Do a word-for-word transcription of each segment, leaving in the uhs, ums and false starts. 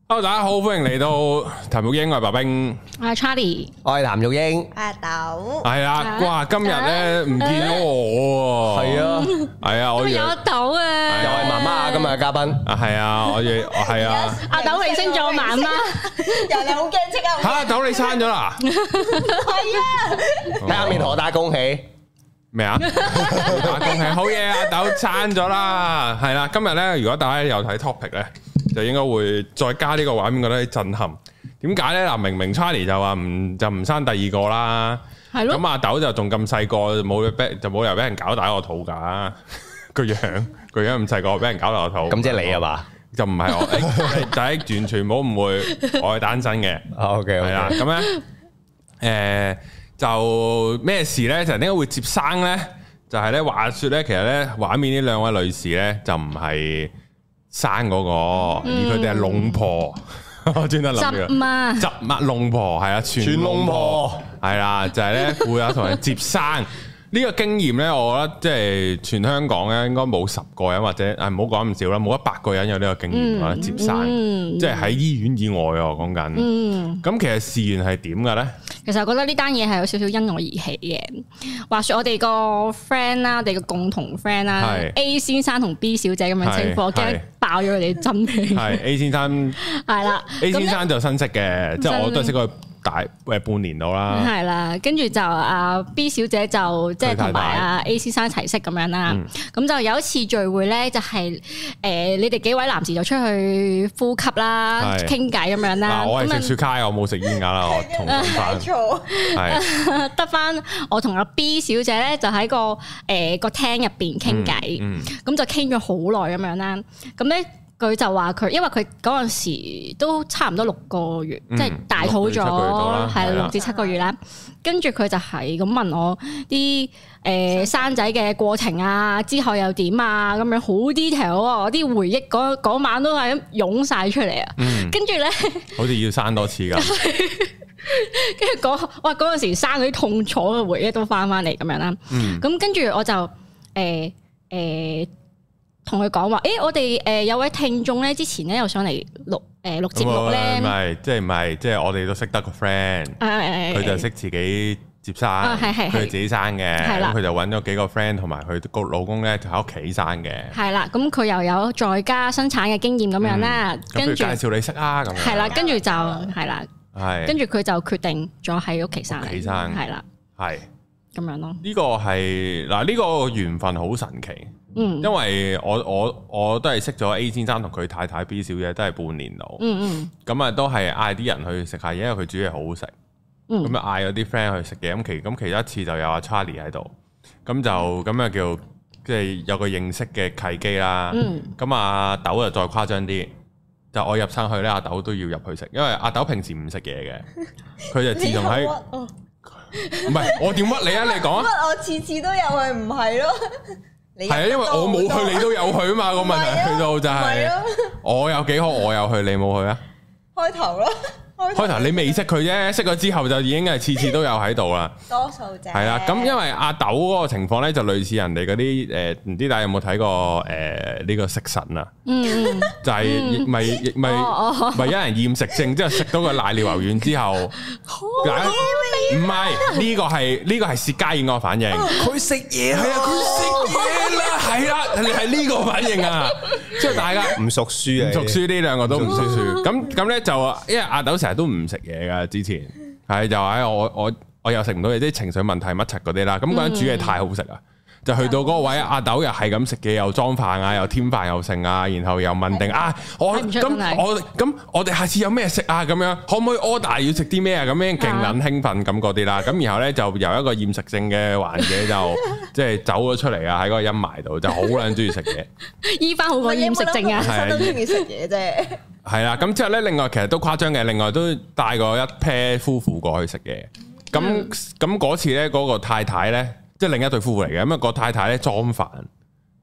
Hello， 大家好，歡迎嚟到譚玉英，我係白兵， 我係 Charlie， 我係譚玉英， 阿豆， 係啊，哇，今日咧唔見咗我，係啊，係啊，我有阿豆啊， 又係媽媽今日嘅嘉賓， 啊係啊，我亦係啊， 阿豆你升咗媽媽， 又你好驚即刻， 吓，阿豆你生咗啦， 係啊， 睇下面何大恭喜咩啊？打恭喜，好嘢，阿豆生咗啦，係啦，今日咧如果大家有睇 topic 咧。就應該會再加呢個畫面，覺得震撼。點解咧？嗱，明明 Charlie 就話唔就唔生第二個啦，係咯。咁阿豆就仲咁細個，冇俾就冇理由俾人搞大個肚㗎。個樣個樣咁細個，俾人搞大個肚。 咁即係你係嘛？ 就唔係我，就係完全冇誤會，我係單身嘅。 OK，係啦。咁咧，誒就咩事咧？就點解會接生咧？就係咧話説咧，其實咧畫面呢兩位女士咧就唔係生嗰個，而佢哋係龍婆，我專登諗嘅。 執媽， 執媽龍婆係啊，全龍婆係啦，就係咧會有同人接生呢個經驗咧，我覺得即係全香港咧應該冇十個人或者誒唔好講咁少啦，冇一百個人有呢個經驗啊，接生，即係喺醫院以外啊，我講緊。咁其實事緣係點嘅咧？ 其實我覺得呢單嘢係有少少因我而起嘅。話說我哋個 friend 啦，我哋個共同 friend 啦 ，A 先生同 B 小姐咁樣稱呼，驚爆咗佢哋真氣。係 A 先生係啦 ，A 先生就新識嘅，即係我都係識佢大誒半年到啦。係啦，跟住就阿 B 小姐就即係同埋阿 A 先生一齊識咁樣啦。咁就有一次聚會咧，就係誒你哋幾位男士就出去呼吸啦、傾偈咁樣啦。 我係食雪茄，我冇食煙㗎啦，我同翻。 係得翻我同阿 B 小姐咧，就喺個誒個廳入邊傾偈，咁就傾咗好耐咁樣啦。咁咧佢就話佢，因為佢嗰陣時都差唔多六個月，即係大肚咗，係六至七個月啦。跟住佢就係咁問我啲誒生仔嘅過程啊，之後又點啊，咁樣好 detail 啊，我啲回憶嗰嗰晚都係咁湧晒出嚟啊。跟住咧，好似要生多次㗎。 跟住嗰哇嗰陣時生嗰啲痛楚嘅回憶都翻翻嚟咁樣啦。咁跟住我就誒誒同佢講話，誒我哋誒有位聽眾咧，之前咧又上嚟錄誒錄節目咧， 唔係即係唔係即係我哋都識得個 friend，佢就識自己接生，佢自己生嘅，咁佢就揾咗幾個 friend 同埋佢個老公咧就喺屋企生嘅。係啦，咁佢又有在家生產嘅經驗咁樣啦，跟住介紹你識啊咁樣。係啦，跟住就係啦。係，跟住佢就決定咗喺屋企生，屋企生係啦，係咁樣咯。呢個係嗱，呢個緣分好神奇，嗯，因為我我我都係識咗 A 先生同佢太太 B 小姐都係半年度，嗯嗯，咁啊都係嗌啲人去食下嘢，因為佢煮嘢好好食，咁啊嗌咗啲 friend 去食嘢，咁其咁其中一次就有阿 Charlie 喺度，咁就咁啊叫即係有個認識嘅契機啦，嗯，咁阿豆就再誇張啲。就我入生去咧，阿豆都要入去食，因為阿豆平時唔食嘢嘅，佢就自動喺唔係我點屈你啊？你講啊！ 我次次都有去，唔係咯？ 係啊，因為我冇去，你都有去啊嘛。個問題去到就係我有幾好，我有去，你冇去啊？ 開頭咯。 開頭你未識佢啫，識咗之後就已經係次次都有喺度啦。 多數啫。係啦，咁因為阿豆嗰個情況咧，就類似人哋嗰啲誒，唔知大家有冇睇過誒呢個食神啊？嗯，就係咪咪咪有人厭食症，之後食到個瀨尿牛丸之後，唔係呢個係呢個係薛家燕個反應。佢食嘢係啊，佢食嘢啦，係啦，你係呢個反應啊！即係大家唔熟書啊， 唔熟書呢兩個都唔熟書。咁咁咧就因為阿豆成日都唔食嘢噶，之前係就話我我我又食唔到嘢，即係情緒問題乜柒嗰啲啦。咁嗰陣煮嘢太好食啊，就去到嗰個位，阿豆又係咁食嘢，又裝飯啊，又添飯又剩啊，然後又問定啊，我咁我咁我哋下次有咩食啊？咁樣可唔可以 order 要食啲咩啊？咁樣勁撚興奮咁嗰啲啦。咁然後咧就由一個厭食症嘅患者就即係走咗出嚟啊，喺嗰個陰霾度就好撚中意食嘢。醫翻好個厭食症啊， 係都中意食嘢啫。 係啦，咁之後咧，另外其實都誇張嘅，另外都帶過一 pair 夫婦過去食嘢。咁咁嗰次咧，嗰個太太咧，即係另一對夫婦嚟嘅，咁啊個太太咧裝飯，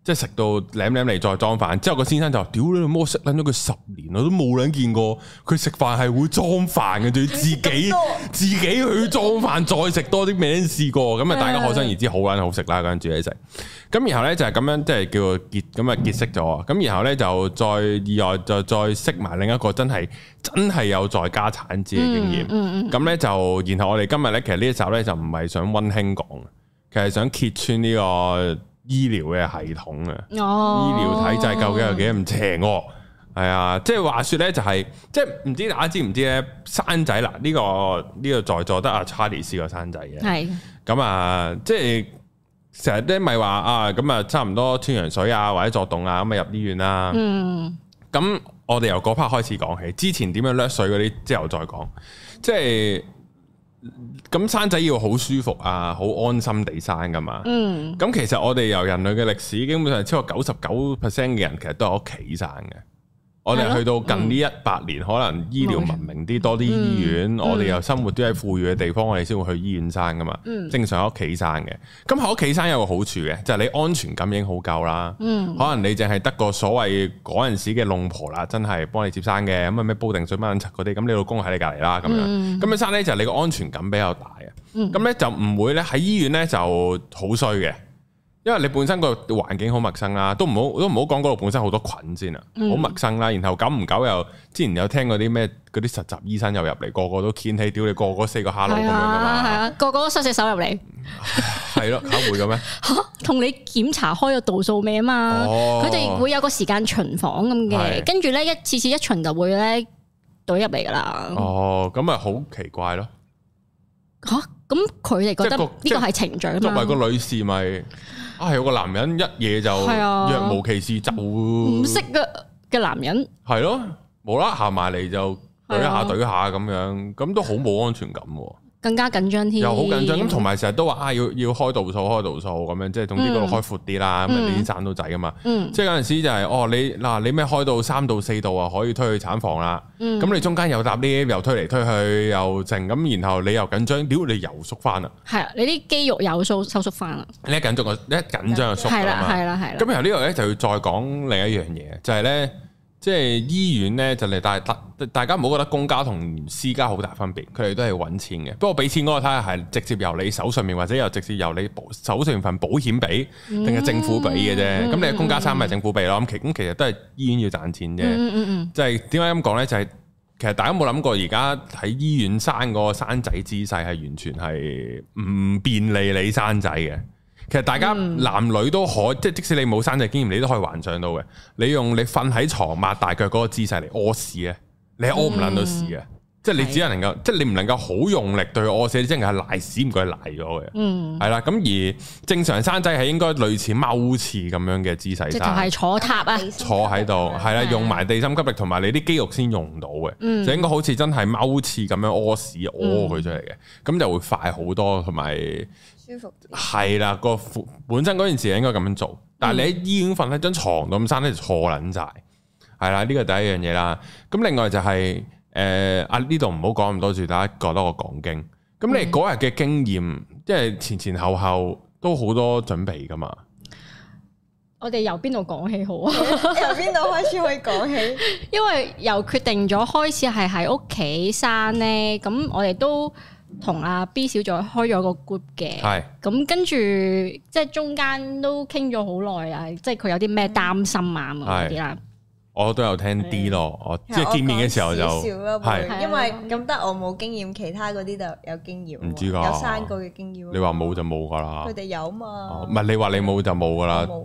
即係食到舐舐嚟再裝飯，之後個先生就話：屌你老母，我識撚咗佢十年，我都冇撚見過佢食飯係會裝飯嘅，仲要自己自己去裝飯，再食多啲未試過。咁啊，大家可想而知好撚好食啦，嗰陣煮嘢食。咁然後咧就係咁樣，即係叫做結咁啊結識咗。咁然後咧就再意外就再識埋另一個真係真係有在家產子嘅經驗。咁咧、嗯嗯嗯、就然後我哋今日咧其實呢一集咧就唔係想溫馨講，其實想揭穿呢個醫療嘅系統啊，哦、醫療體制究竟有幾咁邪惡？係啊，即係話說咧就係、是，即係唔知大家知唔知咧？生仔啦，呢、這個呢、這個在座得阿查理斯個生仔嘅，係咁啊，即係成日咧咪話啊，咁啊差唔多穿羊水啊或者作動啊咁啊入醫院啦。嗯，咁我哋由嗰 part 開始講起，之前點樣掠水嗰啲之後再講，即係。咁生仔要好舒服啊，好安心地生噶嘛。嗯，咁其實我哋由人類嘅歷史，基本上超過九十九 percent 嘅人其實都喺屋企生嘅。我哋去到近呢一百年，嗯、可能醫療文明啲，多啲醫院，嗯、我哋又生活都喺富裕嘅地方，我哋先會去醫院生噶嘛。嗯、正常喺屋企生嘅。咁喺屋企生有個好處嘅，就係、是、你安全感已經好夠啦。嗯、可能你淨係得個所謂嗰陣時嘅弄婆啦，真係幫你接生嘅，咁啊咩煲定水乜撚柒嗰啲，咁你老公喺你隔離啦，咁樣。咁、嗯、樣生咧就係你個安全感比較大啊。咁咧、嗯、就唔會咧喺醫院咧就好衰嘅。因為你本身個環境好陌生啦，都唔好都唔好講嗰度本身好多菌先啊，好、嗯、陌生啦。然後久唔久又之前有聽過啲咩嗰啲實習醫生又入嚟，個個都掀起屌你個個四個哈囉咁樣噶嘛，係啊，個個都伸隻手入嚟，係咯，嚇會嘅咩？嚇，同你檢查開個度數未啊嘛？佢哋、哦、會有個時間巡房咁嘅，跟住咧一次次一巡就會咧隊入嚟噶啦。哦，咁咪好奇怪咯嚇！咁佢哋覺得呢個係程序啊嘛。作為個女士咪。啊，有個男人一夜就若無其事就唔識嘅嘅男人，係咯，無啦啦行埋嚟就懟下懟下咁樣，咁都好冇安全感喎。更加緊張添，又好緊張咁，同埋成日都話啊，要要開度數開度數咁樣，即係總之嗰度開闊啲啦，咁啊你先生到仔噶嘛。即係有陣時就係哦，你嗱你咩開到三到四度啊，可以推去產房啦。咁你中間又搭 lift 又推嚟推去又靜咁，然後你又緊張，屌你又縮翻啦。係啊，你啲肌肉有收收縮翻啦。你一緊張個一緊張就縮。係啦係啦係啦。咁然後呢度咧就要再講另一樣嘢，就係咧。即係醫院咧，就嚟大大大家唔好覺得公家同私家好大分別，佢哋都係揾錢嘅。不過俾錢嗰個睇下係直接由你手上面，或者又直接由你手上面份保險俾，定係政府俾嘅啫。咁、嗯、你係公家生咪政府俾咯。咁其咁其實都係醫院要賺錢啫。嗯嗯嗯、就係點解咁講咧？就係、是、其實大家冇諗過，而家喺醫院生嗰個生仔姿勢係完全係唔便利你生仔嘅。其實大家男女都可，即係即使你冇生仔經驗，你都可以幻想到嘅。你用你瞓喺床擘大腳嗰個姿勢嚟屙屎咧，你係屙唔撚到屎嘅。嗯、即係你只係能夠，的即係你唔能夠好用力對佢屙屎，你真係賴屎唔該賴咗嘅。嗯，係啦。咁而正常生仔係應該類似踎廁咁樣嘅姿勢生，即係坐塔啊，坐喺度係啦，用埋地心吸力同埋你啲肌肉先用到嘅。嗯、就應該好似真係踎廁咁樣屙屎屙佢出嚟嘅，咁、嗯、就會快好多同埋。舒服啲係啦，個本身嗰件事應該咁樣做，但係你喺醫院瞓喺張床度咁生咧就錯撚晒，係啦，呢個第一樣嘢啦。咁另外就係誒啊呢度唔好講咁多住，大家覺得我講經。咁你嗰日嘅經驗，即係前前後後都好多準備噶嘛。我哋由邊度講起好啊？由邊度開始可以講起？因為由決定咗開始係喺屋企生咧，咁我哋都。同阿 B 小姐開咗個 group 嘅，咁是跟住即係中間都傾咗好耐啊，即係佢有啲咩擔心啊嗰啲啦。我都有聽啲咯，我即係見面嘅時候就係，因為咁得我冇經驗，其他嗰啲就有經驗，唔知㗎，有生過嘅經驗。你話冇就冇㗎啦，佢哋有嘛？唔係你話你冇就冇㗎啦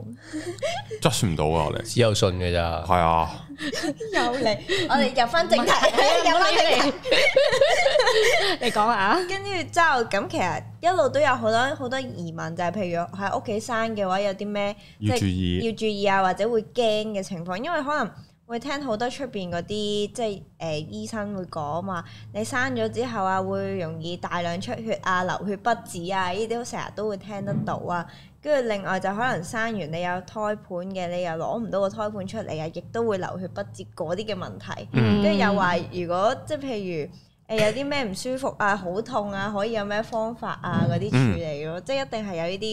，judge 唔到啊！我哋只有信嘅咋，係啊，有嚟，我哋入翻正題，入翻正題，你講下。跟住之後咁，其實一路都有好多好多疑問，就係譬如喺屋企生嘅話，有啲咩要注意，要注意啊，或者會驚嘅情況，因為可能。會聽好多出邊嗰啲即係誒、呃、醫生會講嘛，你生咗之後啊，會容易大量出血啊、流血不止啊，呢啲都成日都會聽得到啊。跟住另外就可能生完你有胎盤嘅，你又攞唔到個胎盤出嚟啊，亦都會流血不止嗰啲嘅問題。跟住、嗯、又話如果即係譬如誒、呃、有啲咩唔舒服啊、好痛啊，可以有咩方法啊嗰啲處理咯，嗯、即係一定係有呢啲。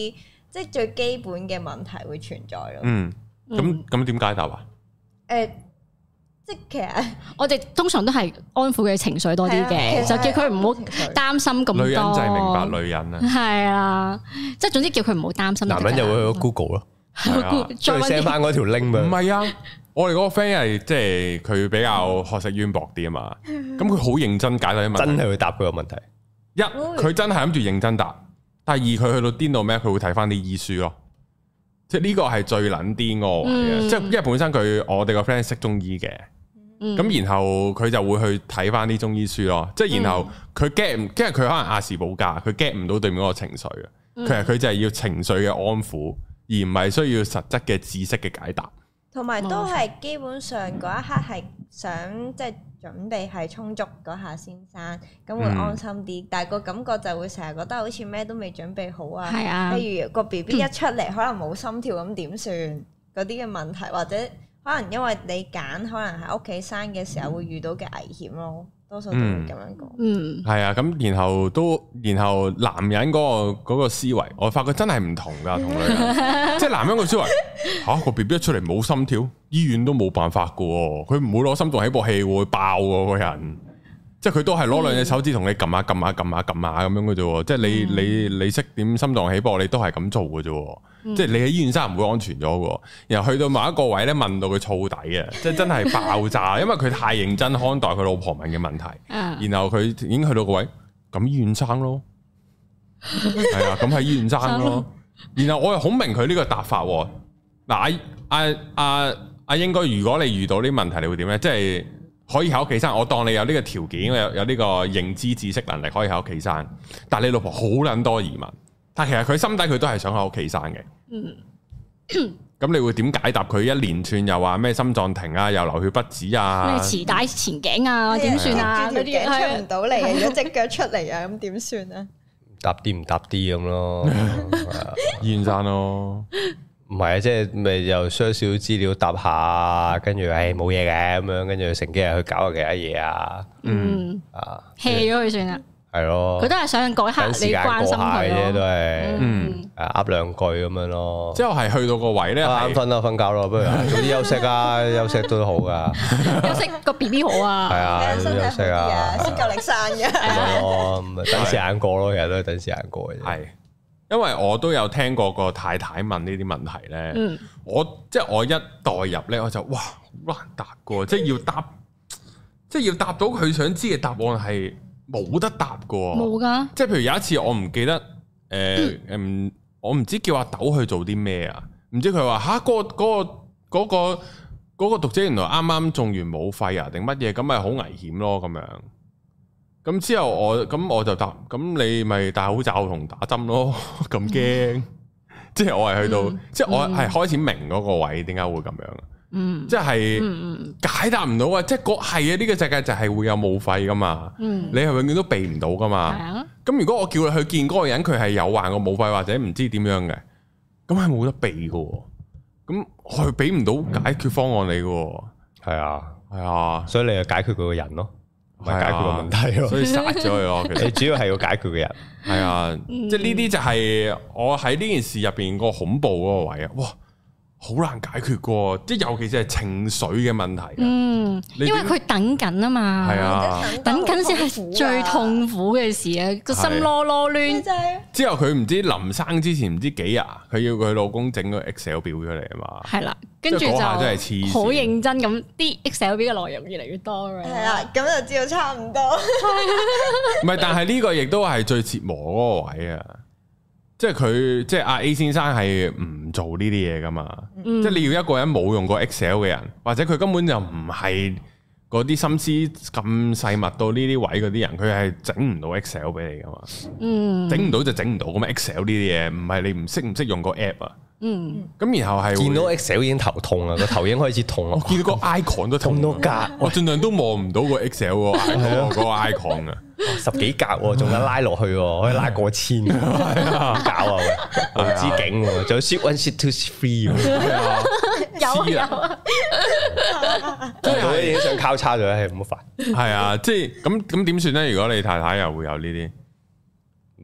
即係最基本嘅問題會存在咯。 嗯，咁咁點解答啊？ 誒，即係其實我哋通常都係安撫佢情緒多啲嘅，就叫佢唔好擔心咁多。 女人就係明白女人啊。係啊，即係總之叫佢唔好擔心。 男人就會去 Google 咯，再 send 翻嗰條 link 俾佢。 唔係啊，我哋嗰個 friend 係即係佢比較學識淵博啲啊嘛，咁佢好認真解答啲問題，真係會答佢個問題。 一佢真係諗住認真答，第二佢去到癲到咩？佢會睇翻啲醫書咯。即係呢個係最撚癲個位嘅，即係因為本身佢我哋個 friend 識中醫嘅，咁、嗯、然後佢就會去睇翻啲中醫書咯。即係然後佢 get 唔，因為佢可能亞氏保加，佢 get 唔到對面嗰個情緒嘅，佢係佢就係要情緒嘅安撫，而唔係需要實質嘅知識嘅解答。 同埋都係基本上嗰一刻係想即係準備係充足嗰下先生，咁會安心啲。嗯、但係個感覺就會成日覺得好似咩都未準備好啊。係啊，譬如個 B B 一出嚟、嗯、可能冇心跳咁點算嗰啲嘅問題，或者可能因為你揀可能喺屋企生嘅時候會遇到嘅危險咯。多數都會咁樣講，嗯，係啊， 咁然後都，然後男人嗰個嗰個思維，我發覺真係唔同噶，同女人，即係男人個思維，吓個 B B 一出嚟冇心跳，醫院都冇辦法噶，佢唔會攞心臟起搏器會爆個個人，即係佢都係攞兩隻手指同你撳下撳下撳下撳下咁樣嘅啫，即係你你你識點心臟起搏，你都係咁做嘅啫。即係你喺醫院生唔會安全咗嘅，然後去到某一個位咧，問到佢燥底啊，即係真係爆炸，因為佢太認真看待佢老婆問嘅問題，然後佢已經去到個位，咁醫院生咯，係啊，咁喺醫院生咯，然後我又好明佢呢個答法，嗱阿阿阿阿英哥，如果你遇到呢啲問題，你會點咧？即係可以喺屋企生，我當你有呢個條件，有有呢個認知知識能力，可以喺屋企生，但係你老婆好撚多疑問。但其實佢心底佢都係想喺屋企生嘅。嗯，咁你會點解答佢一連串又話咩心臟停啊，又流血不止啊， 咩臍帶前頸啊，點算啊？ 嗰啲出唔到嚟，如果隻腳出嚟啊，咁點算啊？ 答啲唔答啲咁咯， 醫院生咯。 唔係啊，即係咪又 search 少資料答下，跟住誒冇嘢嘅咁樣，跟住乘幾日去搞下其他嘢啊。嗯啊 hea 咗佢算啦。係咯，佢都係想嗰一刻你關心佢啫，都係，嗯，誒，噏兩句咁樣咯。 之後係去到個位咧， 啱瞓啦，瞓覺咯，不如早啲休息啊，休息都好噶。 休息個 B B 好啊， 係啊，休息啊， 先夠力生嘅。 係咯，等時間過咯，其實都係等時間過嘅啫。 係，因為我都有聽過個太太問呢啲問題咧，嗯，我即係我一代入咧，我就哇好難答噶，即係要答，即係要答到佢想知嘅答案係。冇得答噶， 冇噶。 即係譬如有一次我唔記得，誒、呃、誒，嗯、我唔知叫阿豆去做啲咩啊？唔知佢話吓嗰個嗰、嗰個嗰、嗰個、嗰個讀者原來啱啱種完武肺啊，定乜嘢咁咪好危險咯咁樣。咁之後我咁我就答，咁你咪戴口罩同打針咯，咁驚。嗯、即係我係去到，嗯、即係我係開始明嗰個位點解會咁樣。嗯，即係解答唔到啊！即係嗰係啊，呢個世界就係會有武肺噶嘛。嗯，你係永遠都避唔到噶嘛。係啊。咁如果我叫你去見嗰個人，佢係有患過武肺或者唔知點樣嘅，咁係冇得避噶。咁我係俾唔到解決方案你噶。 係啊， 係啊， 所以你就解決佢個人咯，唔係解決個問題咯。 所以殺咗佢咯。其實你主要係要解決個人。 係啊，即係呢啲就係我喺呢件事入邊個恐怖嗰個位啊！哇！好難解決過，即係尤其是係情緒嘅問題。嗯， 因為佢等緊啊嘛， 係啊， 等緊先係最痛苦嘅事啊，個心囉囉攣。 之後佢唔知臨生之前唔知幾日，佢要佢老公整個 Excel 表出嚟啊嘛。 係啦，跟住就好認真咁，啲 Excel 表嘅內容越嚟越多。 係啊，咁就知道差唔多。 唔係，但係呢個亦都係最折磨嗰個位啊。即係佢，即係阿 A 先生係唔做呢啲嘢噶嘛？嗯、即係你要一個人冇用過 Excel 嘅人，或者佢根本就唔係嗰啲心思咁細密到呢啲位嗰啲人，佢係整唔到 Excel 俾你噶嘛？嗯，整唔到就整唔到咁 Excel 呢啲嘢，唔係你唔識唔識用個 app 啊？嗯，咁然後係見到 Excel 已經頭痛啦，個頭已經開始痛啦。 我見到個 icon 都痛到格，我盡量都望唔到個 Excel 個 icon 個 icon 啊， 十幾格仲有拉落去，可以拉過千，搞啊，無止境，仲有 sheet one sheet two sheet three， 有有啊， 即係已經想交叉咗，係唔好煩。 係啊，即係咁咁點算咧？如果你太太又會有呢啲？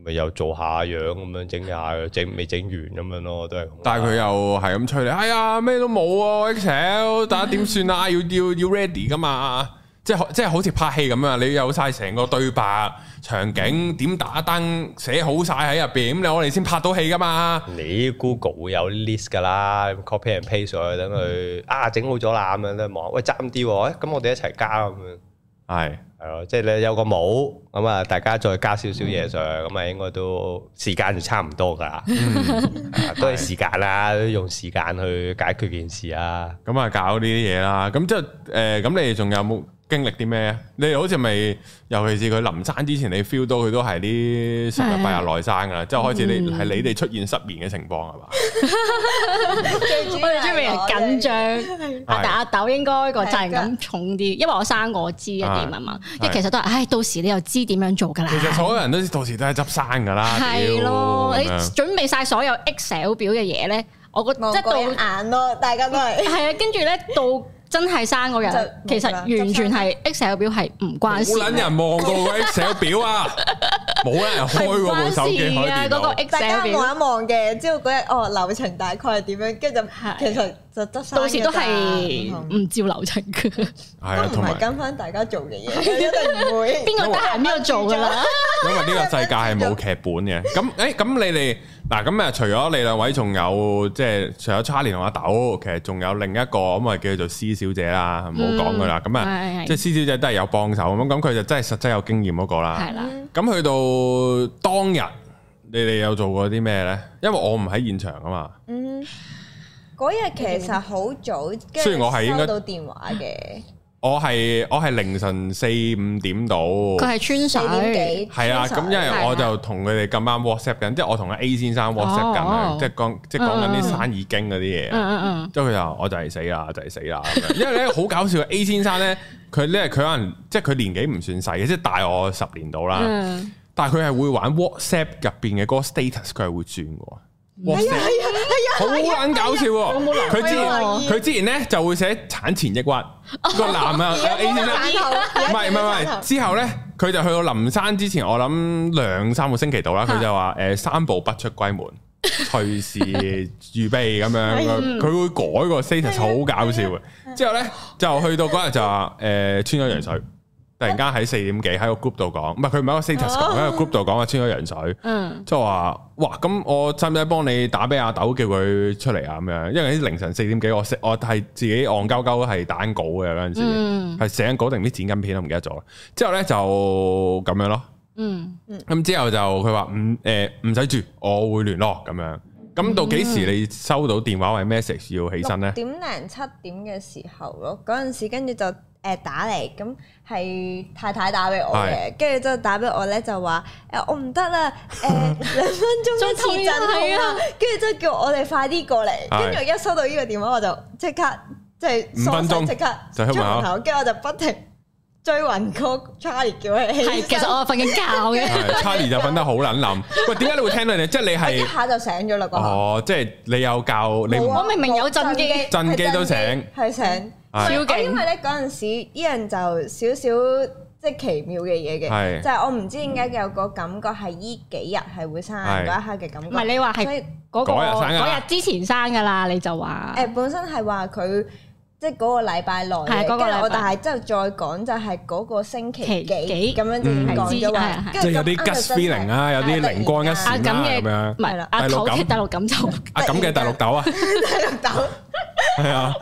咪又做下樣咁樣整下，整未整完咁樣咯，都係。 但係佢又係咁吹你，哎呀咩都冇啊 Excel， 大家點算啊？要要要 ready 噶嘛？即係即係好似拍戲咁啊！你有晒成個對白、場景點打燈寫好晒喺入邊，咁你我哋先拍到戲噶嘛？ 你 Google 會有 list 噶啦 ，copy and paste 上去等佢啊整好咗啦咁樣咧望，喂爭啲喎，咁我哋一齊加咁樣。係係咯，即係你有個模咁啊，大家再加少少嘢上，咁啊應該都時間就差唔多噶啦，都係時間啦，都用時間去解決件事啊。咁啊搞呢啲嘢啦，咁即係誒，咁你哋仲有冇經歷啲咩？你哋好似咪，尤其是佢臨生之前，你 feel 到佢都係啲十日八日內生噶啦，即係開始你係你哋出現失眠嘅情況係嘛？ 我哋出面人緊張，但阿豆應該個責任感重啲，因為我生過我知一點啊嘛。因為其實都係，唉，到時你又知點樣做噶啦。其實所有人都到時都係執生噶啦。係咯，你準備晒所有 Excel 表嘅嘢咧，我覺得即係到眼咯，大家都係。係啊，跟住咧到。真係生嗰日，其實完全係 Excel 表係唔關事。冇撚人望過個 Excel 表啊！冇人開過部手機開電腦。 大家望一望嘅，知道嗰日哦流程大概係點樣，跟住就其實就執生。 到時都係唔照流程嘅。係啊，同埋跟翻大家做嘅嘢，一定唔會。 邊個得閒邊個做㗎啦？ 因為呢個世界係冇劇本嘅。咁誒，咁你哋嗱咁誒，除咗你兩位，仲有即係除咗 Charlie 同阿豆，其實仲有另一個咁啊，叫做施小姐啦，唔好講佢啦。咁啊，即係施小姐都係有幫手咁，咁佢就真係實際有經驗嗰個啦。係啦。咁去到當日，你哋有做過啲咩咧？因為我唔喺現場啊嘛。嗯。 嗰日其實好早， 雖然我係應該收到電話嘅。 我係我係凌晨四五點到， 佢係穿水， 係啊，咁因為我就同佢哋咁啱 WhatsApp 緊，即係我同阿 A 先生 WhatsApp 緊，即係講即係講緊啲生意經嗰啲嘢，嗯嗯嗯，即係佢就我就係死啦，就係死啦，因為咧好搞笑，A 先生咧佢咧佢可能即係佢年紀唔算細嘅，即係大我十年到啦，但係佢係會玩 WhatsApp 入邊嘅嗰個 status，佢係會轉嘅。哇！係啊係啊，好撚搞笑喎！佢之前佢之前咧就會寫產前抑鬱個男啊 A 先生，唔係唔係唔係，之後咧佢就去到臨生之前，我諗兩三個星期度啦，佢就話誒三步不出閨門，隨時預備咁樣，佢會改個 status 好搞笑嘅。之後咧就去到嗰日就話誒穿咗羊水。突然間喺四點幾喺個 group 度講，唔係佢唔係一個 status 講，喺個 group 度講話穿咗羊水，即係話哇咁我使唔使幫你打俾阿豆叫佢出嚟啊咁樣？因為啲凌晨四點幾我我係自己戇鳩鳩係打緊稿嘅嗰陣時，係寫緊稿定啲剪緊片都唔記得咗。之後咧就咁樣咯，嗯咁之後就佢話唔誒唔使住，我會聯絡咁樣。咁到幾時你收到電話或者 message 要起身咧？ 點零七點嘅時候咯，嗰陣時跟住就。誒打嚟，咁係太太打俾我嘅，跟住之後打俾我咧就話誒我唔得啦，誒兩分鐘一次陣啊，跟住之後叫我哋快啲過嚟，跟住我一收到呢個電話我就即刻即係五分鐘即刻出門口，跟住我就不停追暈個 Charlie 叫佢起身。 係，其實我瞓緊覺嘅 ，Charlie 就瞓得好撚冧。喂，點解你會聽到你？即係你係一下就醒咗啦。 哦，即係你有教你， 我明明有震機， 震機都醒， 係醒。超勁！因為咧嗰陣時，依樣就少少即係奇妙嘅嘢嘅，就係我唔知點解有個感覺係依幾日係會生嗰一刻嘅感覺。唔係你話係嗰個嗰日之前生㗎啦，你就話誒本身係話佢即係嗰個禮拜內嘅，跟住我但係之後再講就係嗰個星期幾咁樣先講咗話， 即係有啲 gut feeling 啊，有啲靈光一閃啦咁樣。 唔係啦，阿頭嘅大陸感就阿咁嘅大陸豆啊， 大陸豆。 係啊，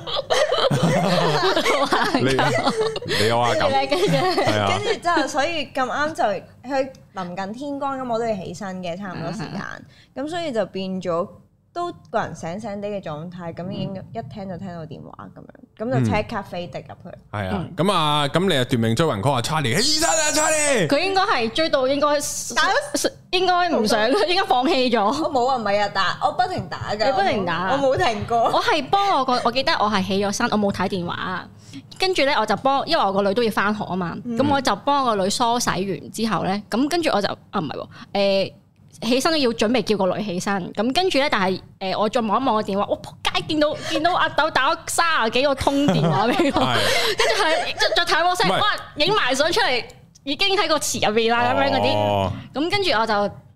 你你有啊咁，係啊， 跟住之後，所以咁啱就去臨近天光咁，我都要起身嘅，差唔多時間，咁所以就變咗都個人醒醒啲嘅狀態，咁已經一聽就聽到電話咁樣，咁就即刻飛的入去。係啊， 咁啊，咁你又奪命追魂 call 阿 Charlie，起身啊 Charlie！ 佢應該係追到應該打，應該唔想，應該放棄咗。 我冇啊，唔係啊，打我不停打㗎， 你不停打， 我冇停過。 我係幫我個，我記得我係起咗身，我冇睇電話。跟住咧，我就幫，因為我個女都要翻學啊嘛，咁我就幫我個女梳洗完之後咧，咁跟住我就啊唔係喎，誒。起身都要準備叫個女起身，咁跟住咧，但係誒、呃，我再望一望個電話，我仆街見到見到阿豆打咗三十幾個通電話俾我，跟住係再睇我聲，哇，影埋相出嚟，已經喺個池入邊啦咁樣嗰啲，咁跟住我就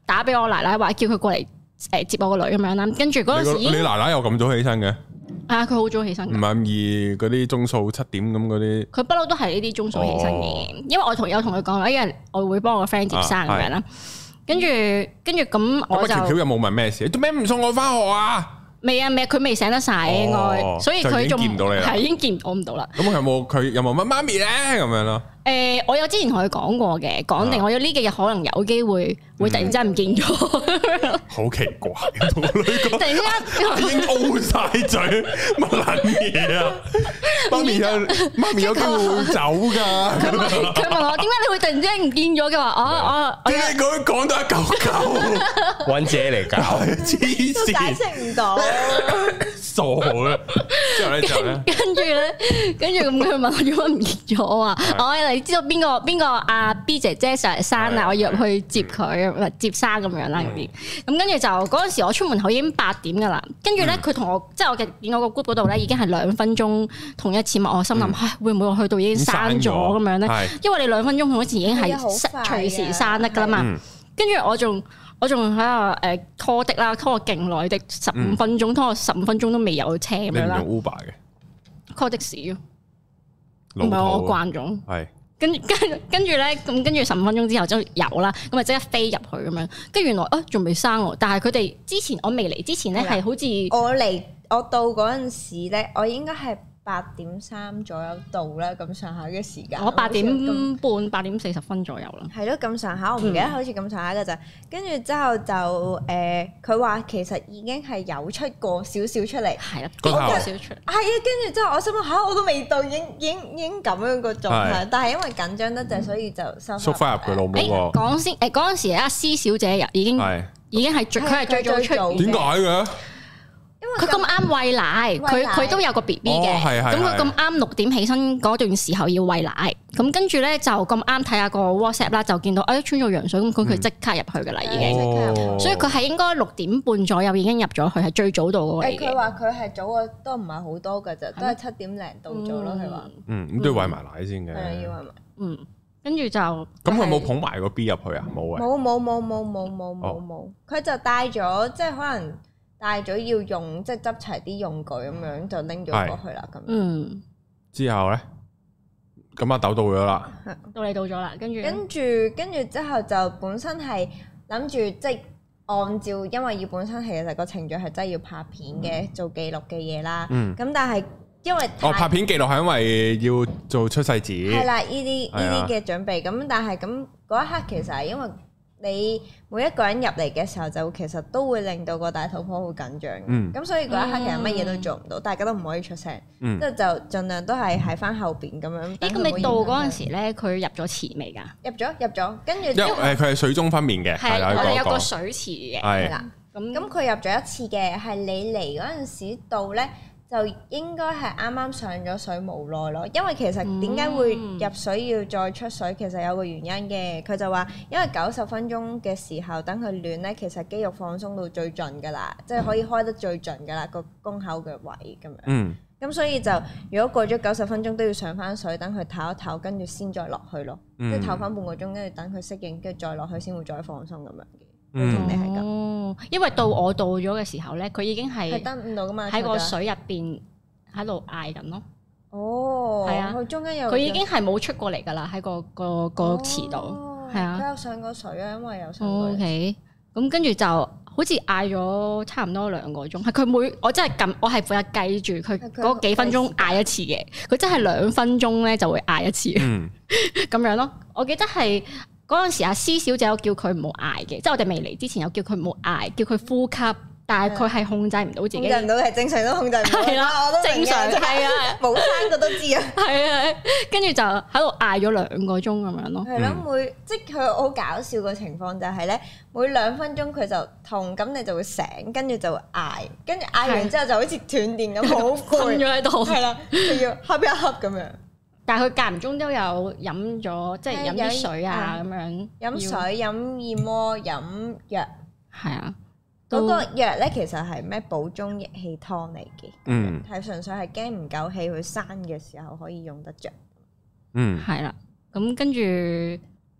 打俾我奶奶，話叫佢過嚟誒接我個女咁樣啦。跟住嗰陣時， 你奶奶又咁早起身嘅？ 啊，佢好早起身。唔係咁易嗰啲鐘數七點咁嗰啲。佢不嬲都係呢啲鐘數起身嘅，因為我同有同佢講啦，因為我會幫我個 friend 接生咁樣啦。跟住跟住咁我就。 條條有冇問咩事？做咩唔送我翻學啊？ 未啊未，佢未醒得晒應該，所以佢仲見唔到你啦。 係已經見我唔到啦。 咁佢有冇佢有冇乜媽咪咧咁樣咯？ 誒，我有之前同佢講過嘅，講定我有呢幾日可能有機會會突然之間唔見咗。 好奇怪，同個女講， 突然之間已經 O 晒嘴，乜撚嘢啊？媽咪有媽咪有機會會走㗎。 佢問佢問我點解你會突然之間唔見咗嘅話，我我點解佢講到一嚿嚿？ 揾姐嚟搞， 黐線， 解釋唔到， 傻嘅。之後咧，之後咧， 跟住咧，跟住咁佢問我點解唔見咗，我話我。你知道邊個邊個阿 B 姐姐上嚟生啊？我要入去接佢，接生咁樣啦嗰啲。咁跟住就嗰陣時，我出門口已經八點噶啦。跟住咧，佢同我即係我嘅見我個 group 嗰度咧，已經係兩分鐘同一次嘛。我心諗，唉，會唔會我去到已經生咗咁樣咧？因為你兩分鐘同一次已經係隨時生得噶啦嘛。跟住我仲我仲喺度誒 call 的啦 ，call 我勁耐的十五分鐘，拖我十五分鐘都未有車咁樣啦。 你唔用 Uber 嘅 call 的士咯，唔係我慣咗。係。跟跟跟住咧，咁跟住十五分鐘之後就有啦，咁啊即刻飛入去咁樣。跟住原來啊仲未生喎，但係佢哋之前我未嚟之前咧係好似我嚟我到嗰陣時咧，我應該係八點三左右到啦，咁上下嘅時間。 我八點半、八點四十分左右啦。 係咯，咁上下我唔記得，好似咁上下㗎咋。跟住之後就誒，佢話其實已經係有出過少少出嚟。 係啦，幾個少出嚟。係啊，跟住之後我心諗嚇，我都未到，已經已經已經咁樣個狀態。但係因為緊張得滯，所以就收縮翻入佢老母個。 講先誒，嗰陣時阿施小姐已經已經係最佢係最早出。 點解嘅？ 佢咁啱餵奶，佢佢都有個 B B 嘅，咁佢咁啱六點起身嗰段時候要餵奶，咁跟住咧就咁啱睇下個 WhatsApp 啦，就見到誒穿咗羊水，咁佢佢即刻入去噶啦已經，所以佢係應該六點半左右已經入咗去，係最早到嗰個嚟嘅。 佢話佢係早嘅都唔係好多噶咋，都係七點零到咗咯。佢話嗯咁都要餵埋奶先嘅， 係啊要餵埋， 嗯，跟住就咁佢冇捧埋個 B 入去啊？冇啊， 冇冇冇冇冇冇冇冇，佢就帶咗即係可能。帶咗要用，即係執齊啲用具咁樣就拎咗過去啦。咁嗯， 之後咧，咁阿豆到咗啦， 到你到咗啦，跟住跟住跟住之後就本身係諗住即係按照，因為要本身其實個程序係真係要拍片嘅，嗯、做記錄嘅嘢啦。嗯，咁但係因為哦拍片記錄係因為要做出世紙，係啦， 呢啲呢啲嘅準備。咁但係咁嗰一刻其實係因為。你每一個人入嚟嘅時候，就其實都會令到個大肚婆好緊張。嗯，咁所以嗰一刻其實乜嘢都做唔到，大家都唔可以出聲。嗯，即係就盡量都係喺翻後邊咁樣。 咦？咁你到嗰陣時咧，佢入咗池未㗎？ 入咗，入咗。跟住因為誒，佢係水中分娩嘅，係我哋有個水池嘅。 係啦，咁咁佢入咗一次嘅，係你嚟嗰陣時到咧。就應該係啱啱上咗水冇耐咯，因為其實點解會入水要再出水，其實有個原因嘅。佢就話因為九十分鐘嘅時候等佢暖咧，其實肌肉放鬆到最盡㗎啦，即係可以開得最盡㗎啦，個宮口嘅位咁樣。嗯。咁所以就如果過咗九十分鐘都要上翻水，等佢唞一唞，跟住先再落去咯。即係唞翻半個鐘，跟住等佢適應，跟住再落去先會再放鬆咁樣嘅。嗯，你係咁， 因為到我到咗嘅時候咧，佢已經係得唔到噶嘛， 喺個水入邊喺度嗌緊咯。 哦，係啊，佢中間有佢已經係冇出過嚟噶啦，喺個個個池度，係啊。 佢有上過水啊，因為有上過。 O K，咁跟住就好似嗌咗差唔多兩個鐘，係佢每我真係撳，我係負責計住佢嗰幾分鐘嗌一次嘅，佢真係兩分鐘咧就會嗌一次，咁樣咯。我記得係。嗰陣時阿施小姐有叫佢唔好嗌嘅，即係我哋未嚟之前有叫佢唔好嗌，叫佢呼吸，但係佢係控制唔到自己。控制唔到係正常都控制唔到。係啦，我都正常係啊，冇生過都知啊。係啊，跟住就喺度嗌咗兩個鐘咁樣咯。係咯，每即係佢好搞笑個情況就係咧，每兩分鐘佢就痛，咁你就會醒，跟住就會嗌，跟住嗌完之後就好似斷電咁，好攰咗喺度。係啦，就要瞌一瞌咁樣。但係佢間唔中都有飲咗，即係飲啲水啊咁樣。飲水、飲燕窩、飲藥。係啊，嗰個藥咧其實係咩補中益氣湯嚟嘅。嗯。係純粹係驚唔夠氣，佢生嘅時候可以用得着。嗯。係啦，咁跟住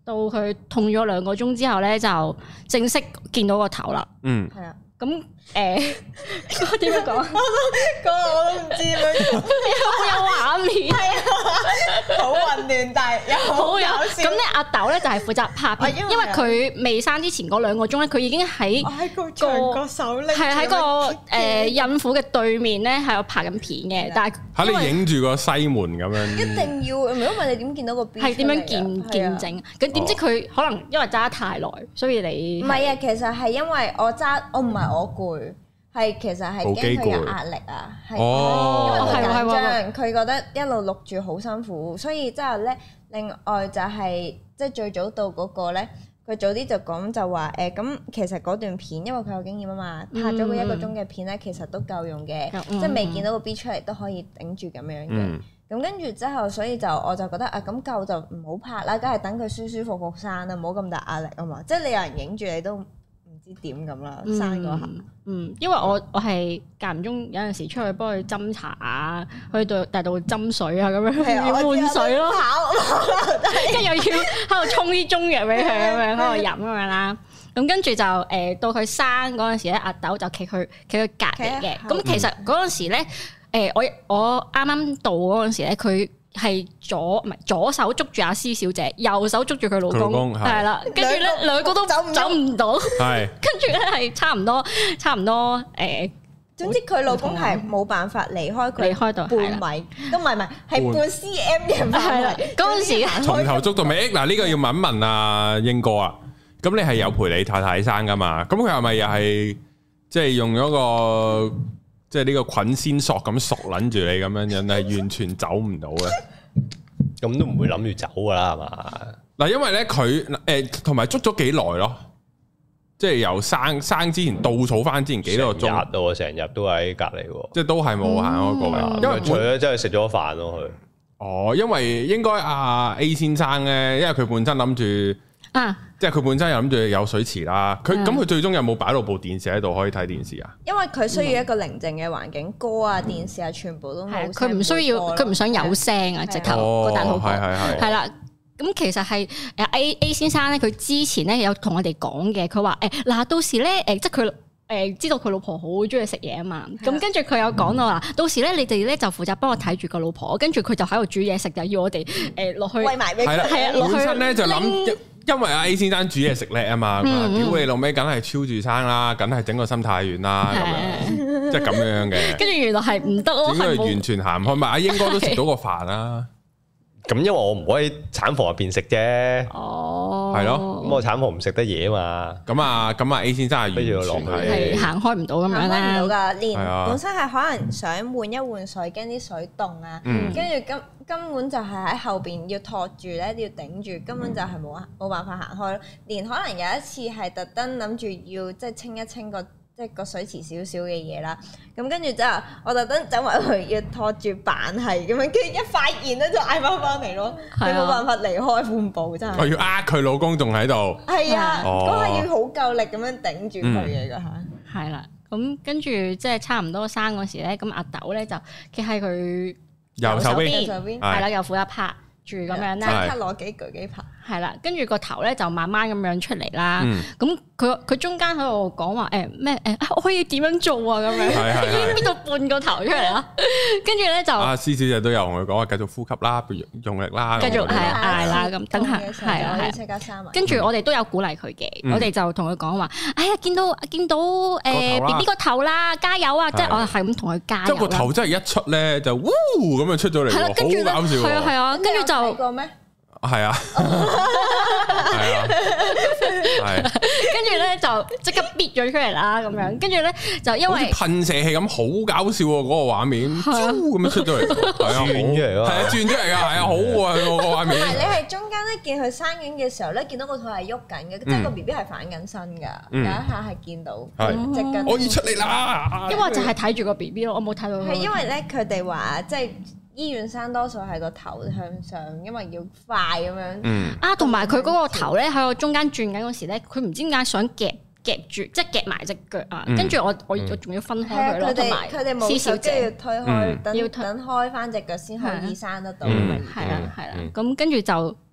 到佢痛咗兩個鐘之後咧，就正式見到個頭啦。嗯，係啊。咁誒，我點樣講？我都我都唔知點樣，有有畫面，係啊， 好混亂，但係又好搞笑。 咁咧，阿豆咧就係負責拍片，因為佢未生之前嗰兩個鐘咧，佢已經喺個長角手拎， 係喺個誒孕婦嘅對面咧，喺度拍緊片嘅。但係嚇你影住個西門咁樣， 一定要，唔係因為你點見到個 B？ 係點樣見見證？咁點知佢可能因為揸得太耐，所以你唔係啊？其實係因為我揸，我唔係。我攰，係其實係驚佢有壓力啊，係因為佢緊張，佢覺得一路錄住好辛苦，所以之後咧，另外就係即係最早到嗰個咧，佢早啲就講就話誒，咁其實嗰段片，因為佢有經驗啊嘛，拍咗個一個鐘嘅片咧，其實都夠用嘅，即係未見到個 B 出嚟都可以頂住咁樣嘅。咁跟住之後，所以就我就覺得啊，咁夠就唔好拍啦，梗係等佢舒舒服服生啦，唔好咁大壓力啊嘛，即係你有人影住你都點咁啦，生嗰下， 嗯，因為我我係間唔中有陣時出去幫佢斟茶啊，去到大度斟水啊，咁樣要換水咯，跟住又要喺度沖啲中藥俾佢咁樣喺度飲咁樣啦。咁跟住就誒到佢生嗰陣時咧，阿豆就企佢企佢隔離嘅。咁其實嗰陣時咧，誒我我啱啱到嗰陣時咧，佢係左唔係左手捉住阿施小姐，右手捉住佢老公，係啦，跟住咧兩個都走走唔到，係跟住咧係差唔多差唔多誒， 總之佢老公係冇辦法離開佢， 離開到半米都唔係唔係係半 cm 嘅範圍。嗰陣時從頭捉到尾。嗱呢個要問一問阿英哥啊，咁你係有陪你太太生噶嘛？咁佢係咪又係即係用咗個？即係呢個捆仙索咁索撚住你咁樣樣，係完全走唔到嘅。 咁都唔會諗住走噶啦，係嘛？ 嗱，因為咧佢誒同埋捉咗幾耐咯，即係由生生之前倒數翻之前幾多個鐘， 日咯，成日都喺隔離喎， 即係都係冇行開過嘅。 嗯、因為除咗真係食咗飯咯，佢。 哦，因為應該阿 A 先生咧，因為佢本身諗住。啊！即係佢本身又諗住有水池啦，佢咁佢最終有冇擺到部電視喺度可以睇電視啊？ 因為佢需要一個寧靜嘅環境，歌啊、電視啊，全部都冇。 佢唔需要，佢唔想有聲啊！直頭個大肚婆係啦。咁其實係誒 A A 先生咧，佢之前咧有同我哋講嘅，佢話誒嗱，到時咧誒，即係佢誒知道佢老婆好中意食嘢啊嘛。咁跟住佢有講到話，到時咧你哋咧就負責幫我睇住個老婆，跟住佢就喺度煮嘢食，就要我哋誒落去餵埋俾佢。 係啊， 本身咧就諗。因為阿 A 先生煮嘢食叻啊嘛，屌你老味，梗係超住生啦，梗係整個心太軟啦，咁樣即係咁樣嘅。 跟住原來係唔得咯， 點解完全行唔開？咪阿英哥都食到個飯啦。 咁因為我唔可以產房入邊食啫。哦，係咯，咁我產房唔食得嘢啊嘛。 咁啊，咁啊 A 先生係完全係行開唔到咁樣啦。 行開唔到噶，連本身係可能想換一換水，驚啲水凍啊，跟住根根本就係喺後邊要托住咧，要頂住，根本就係冇冇辦法行開咯。連可能有一次係特登諗住要即係清一清個。即係個水池少少嘅嘢啦，咁跟住之後，我特登走埋去要拖住板係咁樣，跟住一發現咧就嗌翻翻嚟咯，你冇辦法離開半步真係。 我要呃佢老公仲喺度。 係啊，嗰下要好夠力咁樣頂住佢嘅嗰下。 係啦，咁跟住即係差唔多生嗰時咧，咁阿豆咧就企喺佢右手邊， 係啦，右負一拍住咁樣啦， 即刻攞幾舉幾拍。 係啦，跟住個頭咧就慢慢咁樣出嚟啦。咁佢佢中間喺度講話誒咩誒，我可以點樣做啊？咁樣已經搣到半個頭出嚟啦。跟住咧就阿施小姐都有同佢講話，繼續呼吸啦，用力啦， 繼續係嗌啦咁。等下係啊係。跟住我哋都有鼓勵佢嘅，我哋就同佢講話，哎呀見到見到誒 B B 個頭啦，加油啊！即係我係咁同佢加油。 即係個頭真係一出咧就嗚咁樣出咗嚟，好搞笑。 係啊係啊，跟住就。 係啊，係啊，係， 跟住咧就即刻搣咗出嚟啦，咁樣，跟住咧就因為噴射器咁好搞笑喎，嗰個畫面，咁樣出咗嚟，係啊，轉出嚟咯，係啊，轉出嚟噶，係啊，好啊，個個畫面。 係你係中間咧見佢生緊嘅時候咧，見到個肚係喐緊嘅，即係個 B B 係反緊身噶，有一下係見到，即係可以出嚟啦。 因為我就係睇住個 B B 咯，我冇睇到。 係因為咧，佢哋話即係。醫院生多數係個頭向上，因為要快咁樣。嗯。啊，同埋佢嗰個頭咧喺我中間轉緊嗰時咧，佢唔知點解想夾夾住，即係夾埋隻腳啊！跟住我我我仲要分開佢咯，同埋施小姐要推開，等要等開翻隻腳先可以生得到。係啊係啊，咁跟住就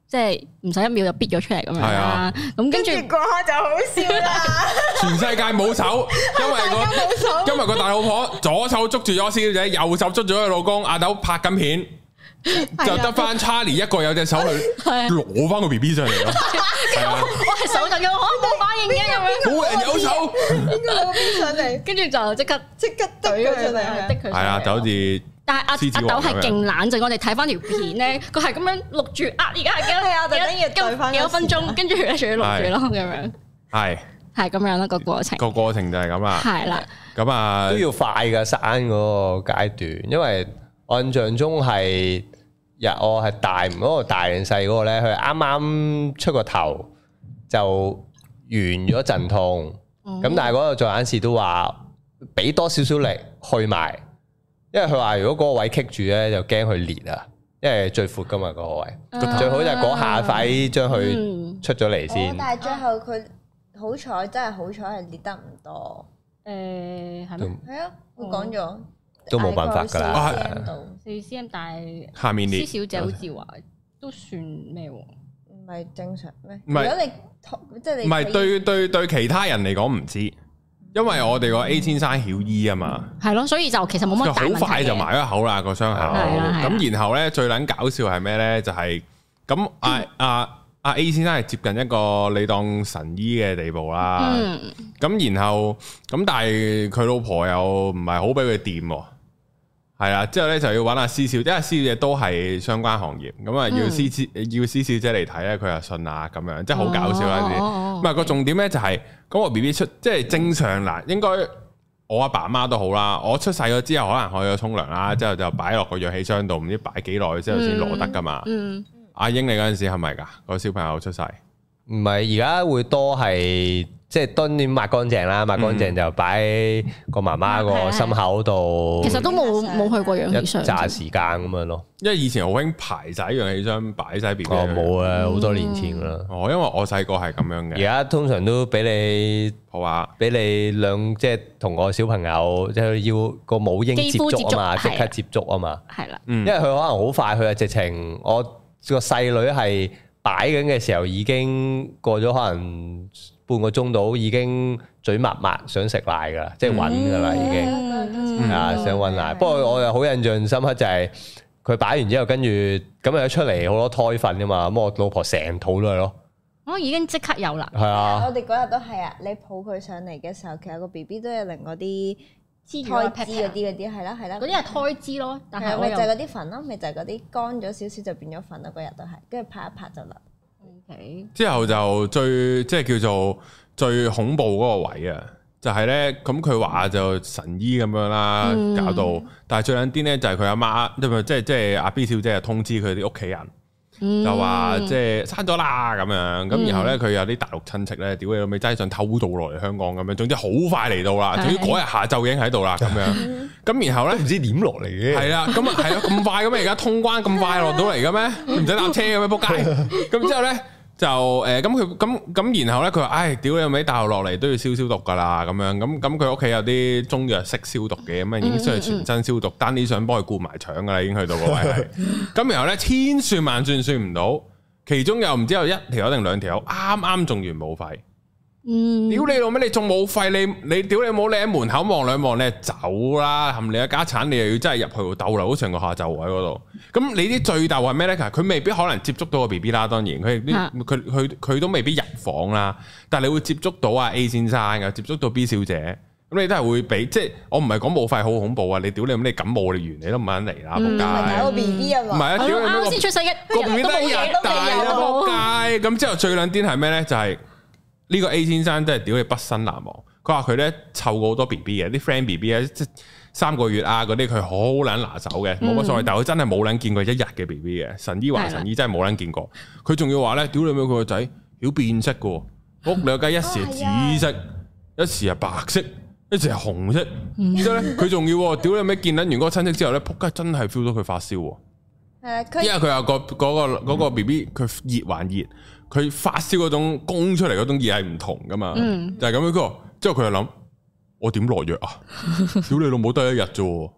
即係唔使一秒就逼咗出嚟咁樣啦。咁跟住嗰刻就好笑啦。 全世界冇手，因為個因為個大老婆左手捉住咗施小姐，右手捉住佢老公阿豆拍緊片。就得翻 Charlie 一個有隻手去攞翻個 B B 上嚟咯， 我係手震嘅，我冇反應嘅咁樣， 冇人有手， 應該攞 B B 上嚟， 跟住就即刻即刻懟佢上嚟，滴佢。係啊，就好似， 但係阿阿豆係勁冷靜，我哋睇翻條片咧，佢係咁樣錄住啊，而家係幾多啊？就等於對翻幾多分鐘，跟住咧仲要錄住咯，咁樣係係咁樣啦個過程， 個過程就係咁啦， 係啦， 咁啊都要快噶生嗰個階段，因為我印象中係。日我係大唔嗰個大定細嗰個咧，佢啱啱出個頭就完咗陣痛，咁、嗯、但係嗰個做眼視都話俾多少少力去埋，因為佢話如果嗰個位棘住咧，就驚佢裂啊，因為最闊噶嘛嗰個位，啊、最好就係嗰下快將佢出咗嚟先。但係最後佢好彩，真係好彩係裂得唔多。誒係咩？係啊，我講咗。都冇辦法㗎啦，四 cm 但係下面裂，施小姐好似話都算咩喎？唔係正常咩？唔係，如果你即係你唔係對對對其他人嚟講唔知，因為我哋個 A 先生曉醫啊嘛，係咯，所以就其實冇乜大問題嘅，好快就埋咗口啦個傷口。咁然後咧最撚搞笑係咩咧？就係咁阿阿阿 A 先生係接近一個你當神醫嘅地步啦。咁然後咁但係佢老婆又唔係好俾佢掂喎。係啦，之後咧就要揾阿施小姐，因為施小姐都係相關行業，咁啊要施小要施小姐嚟睇咧，佢又信啊咁樣，即係好搞笑啦啲。唔係個重點咧就係，咁我 B B 出即係正常嗱，應該我阿爸阿媽都好啦。我出世咗之後，可能我有沖涼啦，之後就擺落個氧氣箱度，唔知擺幾耐之後先攞得噶嘛。嗯，阿英你嗰陣時係咪噶個小朋友出世？唔係，而家會多係。即係當然抹乾淨啦，抹乾淨就擺個媽媽個心口度。其實都冇冇去過氧氣箱，一紮時間咁樣咯。因為以前好興排晒氧氣箱，擺晒 B B。哦，冇啊，好多年前啦。哦，因為我細個係咁樣嘅。而家通常都俾你好啊，俾你兩即係同個小朋友即係要個母嬰接觸啊嘛，即刻接觸啊嘛。係啦，因為佢可能好快，佢啊直情我個細女係擺緊嘅時候已經過咗可能。半個鐘到已經嘴抹抹想食奶噶啦，即係揾噶啦已經，啊想揾奶。不過我又好印象深刻就係佢擺完之後，跟住咁又出嚟好多胎糞噶嘛，咁我老婆成肚都係咯。我已經即刻有啦。係啊，我哋嗰日都係啊，你抱佢上嚟嘅時候，其實個 B B 都有另嗰啲胎脂嗰啲嗰啲係啦係啦，嗰啲係胎脂咯。但係咪就係嗰啲粉咯？咪就係嗰啲乾咗少少就變咗粉咯。嗰日都係，跟住拍一拍就甩。Okay. 之後就最即係叫做最恐怖嗰個位啊，就係咧咁佢話就神醫咁樣啦，嗯、搞到，但係最撚癲咧就係佢阿媽，即係即係即係阿 B 小姐就通知佢啲屋企人，嗯、就話即係生咗啦咁樣，咁、嗯、然後咧佢有啲大陸親戚咧，屌你老味，真係想偷渡落嚟香港咁樣，總之好快嚟到啦，總之嗰日下晝已經喺度啦咁樣，咁、嗯、然後咧唔知點落嚟嘅，係啦，咁啊係啊咁快咁啊而家通關咁快落到嚟嘅咩？唔使搭車嘅咩？仆街！咁之後咧。就誒咁佢咁咁然後咧佢話唉屌你有尾大學落嚟都要消消毒噶啦咁樣咁咁佢屋企有啲中藥識消毒嘅咁啊已經需要全身消毒，單啲想幫佢顧埋腸噶啦已經去到個位係，咁然後咧千算萬算算唔到，其中又唔知有一條定兩條啱啱中完武肺。嗯，屌你老味，你仲冇肺，你你屌你冇，你喺門口望兩望，你走啦，含你嘅家產，你又要真係入去逗留成個下晝喺嗰度。咁你啲最逗係咩咧？佢未必可能接觸到個 B B 啦，當然佢佢佢佢都未必入房啦。但係你會接觸到阿 A 先生，又接觸到 B 小姐，咁你都係會俾即係我唔係講冇肺好恐怖啊！你屌你咁你感冒你完你都唔肯嚟啦，仆街！唔係個 B B 啊嘛，唔係啊，屌你啱先出世一個 B B 都冇嘢都未有，仆街！咁之後最撚癲係咩咧？就係。呢個 A 先生真係屌你畢生難忘。佢話佢咧湊過好多 B B 嘅，啲 friend B B 咧，即係三個月啊嗰啲，佢好撚拿手嘅，冇乜所謂。但係佢真係冇撚見過一日嘅 B B 嘅。神醫話神醫真係冇撚見過。佢仲要話咧，屌你妹佢個仔曉變色嘅，屋兩雞一時係紫色，一時係白色，一時係紅色。之後咧佢仲要屌你妹見撚完嗰個親戚之後咧，仆街真係 feel 到佢發燒。係因為佢有個嗰個嗰個 B B 佢熱還熱。佢發燒嗰種攻出嚟嗰種熱係唔同噶嘛，嗯、就係咁樣。佢話之後佢就諗，我點落藥啊？屌你老母得一日啫，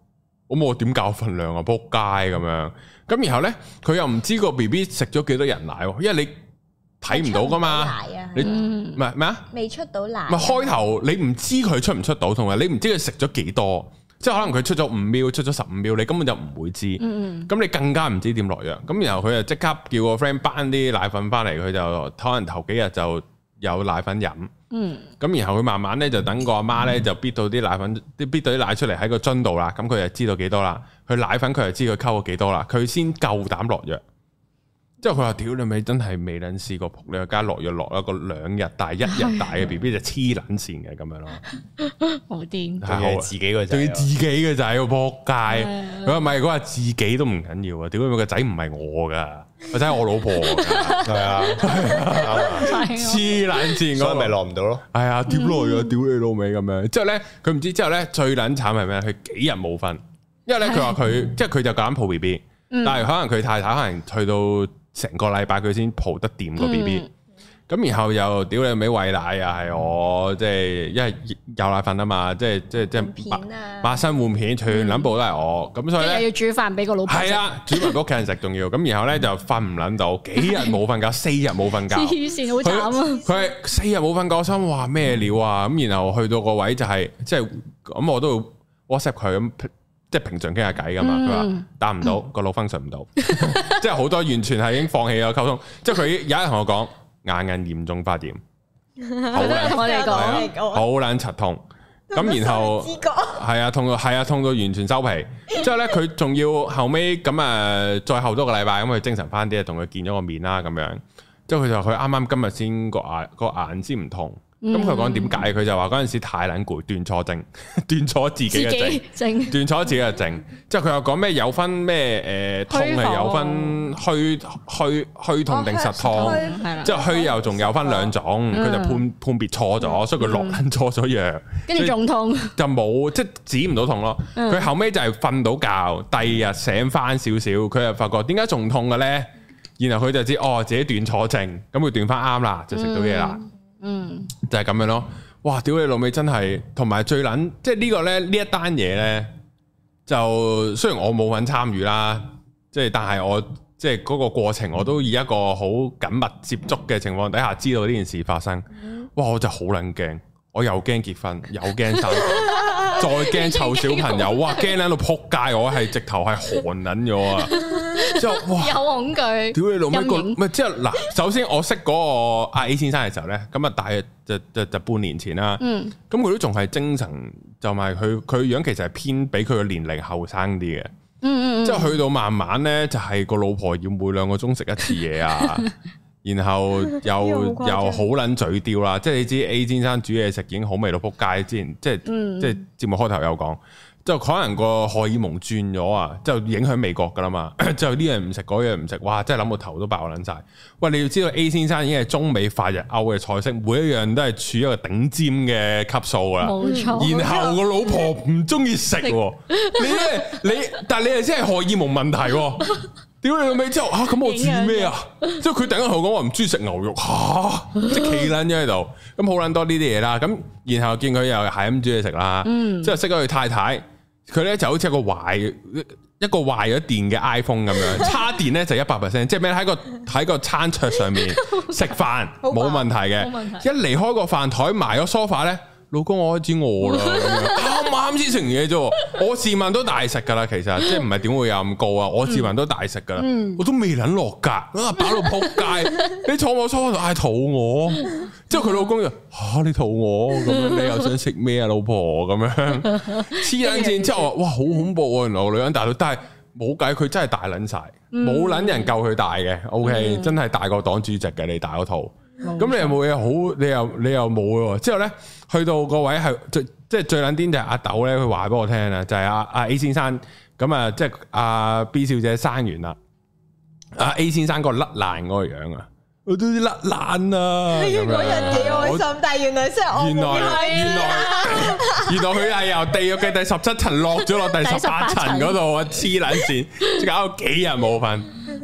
咁我點教份量啊？仆街咁樣。咁然後咧，佢又唔知個 B B 食咗幾多人奶，因為你睇唔到噶嘛。你唔係咩啊？未出到奶。唔係開頭你唔知佢出唔出到，同埋你唔知佢食咗幾多。即係可能佢出咗五秒，出咗十五秒，你根本就唔會知。咁、嗯、你更加唔知點落藥。咁然後佢就即刻叫個 friend 搬啲奶粉翻嚟，佢就可能頭幾日就有奶粉飲。咁、嗯、然後佢慢慢咧就等個阿媽咧就逼到啲奶粉，啲逼到啲奶出嚟喺個樽度啦。咁佢就知道幾多啦。佢奶粉佢就知佢溝咗幾多啦。佢先夠膽落藥。即係佢話：屌你咪真係未撚試過仆你個街落藥落一個兩日大一日大嘅 B B 就黐撚線嘅咁樣咯， 好癲！ 係自己個仔， 對自己嘅仔個仆街。佢話唔係，佢話自己都唔緊要啊！屌你個仔唔係我㗎，個仔係我老婆㗎，係啊，黐撚線， 所以咪落唔到咯。 係啊，點落啊？屌你老味咁樣。之後咧，佢唔知之後咧最撚慘係咩？佢幾日冇瞓，因為咧佢話佢即係佢就夠膽抱 B B，但係可能佢太太可能去到成個禮拜佢先抱得掂個 B B，咁然後又屌你尾餵奶又係我，即係因為有奶粉啊嘛，即係即係即係抹身換片，全撚部都係我，咁所以咧要煮飯俾個老婆食， 係啊，煮飯俾屋企人食仲要，咁然後咧就瞓唔撚到，幾日冇瞓覺，四日冇瞓覺， 黐線好慘啊！ 佢係四日冇瞓覺，我心話咩料啊？咁然後去到個位就係即係咁，我都 WhatsApp 佢咁。即係平常傾下偈噶嘛，佢話答唔到個腦 function 唔到，即係好多完全係已經放棄咗溝通。即係佢有一日同我講眼眼嚴重發炎，好撚我哋講， 好撚柒痛。咁然後係啊痛到係啊痛到完全收皮。之後咧佢仲要後尾咁啊再後多個禮拜咁佢精神翻啲，同佢見咗個面啦咁樣。之後佢就佢啱啱今日先個眼個眼先唔痛。咁佢講點解？佢就話嗰陣時太撚攰，斷錯症，斷錯自己嘅症，斷錯自己嘅症。之後佢又講咩有分咩誒痛係有分虛虛虛痛定實痛，即係虛又仲有分兩種。佢就判判別錯咗，所以佢落撚錯咗藥， 跟住仲痛， 就冇即係止唔到痛咯。佢後尾就係瞓到覺，第二日醒翻少少，佢又發覺點解仲痛嘅咧？然後佢就知哦自己斷錯症，咁佢斷翻啱啦，就食到嘢啦。嗯，就係咁樣咯。哇，屌你老味真係，同埋最撚，即係呢個咧呢一單嘢咧，就雖然我冇份參與啦，即係但係我即係嗰個過程，我都以一個好緊密接觸嘅情況底下，知道呢件事發生。哇，我就好撚驚，我又驚結婚，又驚生，再驚湊小朋友，哇，驚喺度撲街，我係直頭係寒撚咗啊！之後哇， 有恐懼， 屌你老味個，唔係即係嗱，首先我識嗰個阿 A 先生嘅時候咧，咁啊大約就就就半年前啦，嗯，咁佢都仲係精神，就係佢佢樣其實係偏比佢嘅年齡後生啲嘅，嗯嗯，之後去到慢慢咧就係個老婆要每兩個鐘食一次嘢啊，然後又又好撚嘴刁啦，即係你知 A 先生煮嘢食已經好味到撲街，之前即係、嗯、即係節目開頭有講。就可能個荷爾蒙轉咗啊，就影響味覺噶啦嘛。就呢樣唔食，嗰樣唔食，哇！真係諗到頭都爆撚晒。喂，你要知道 A 先生已經係中美法日歐嘅菜式，每一樣都係處於一個頂尖嘅級數啦。冇錯。然後個老婆唔中意食，你咧你，但係你係真係荷爾蒙問題。屌你老味之後啊，咁我煮咩啊？即係佢突然間同我講話唔中意食牛肉，吓即係企撚咗喺度。咁好撚多呢啲嘢啦。咁然後見佢又係咁煮嘢食啦。嗯。之後識咗佢太太。佢咧就好似一個壞一個壞咗電嘅 iPhone 咁樣，叉電咧就一百 percent， 即係咩喺個喺個餐桌上面食飯冇問題嘅，一離開個飯台埋咗 sofa 咧，老公我開始餓啦，啱啱先食完嘢啫，我自問都大食噶啦，其實即係唔係點會有咁高啊？我自問都大食噶啦，嗯、我都未捻落格，啊飽到扑街，你坐我 sofa 度嗌肚餓，之後佢老公就吓你肚餓咁樣，你又想食咩啊老婆咁樣黐捻線，之後話哇好恐怖啊，原來個女人大到，但係冇計，佢真係大捻晒，冇捻、嗯、人夠佢大嘅 ，OK，、嗯、真係大過黨主席嘅，你大嗰套。咁你又冇嘢好，你又你又冇喎。之後咧，去到個位係最即係最撚癲就係阿豆咧，佢話俾我聽啦，就係阿阿 A 先生咁啊，即係阿 B 小姐生完啦，阿 A 先生個甩爛嗰個樣啊，我都甩爛啊！嗰日幾開心，但係原來真係我原來原來原來佢係由地獄嘅第十七層落咗落第十八層嗰度啊！黐撚線，搞到幾日冇瞓。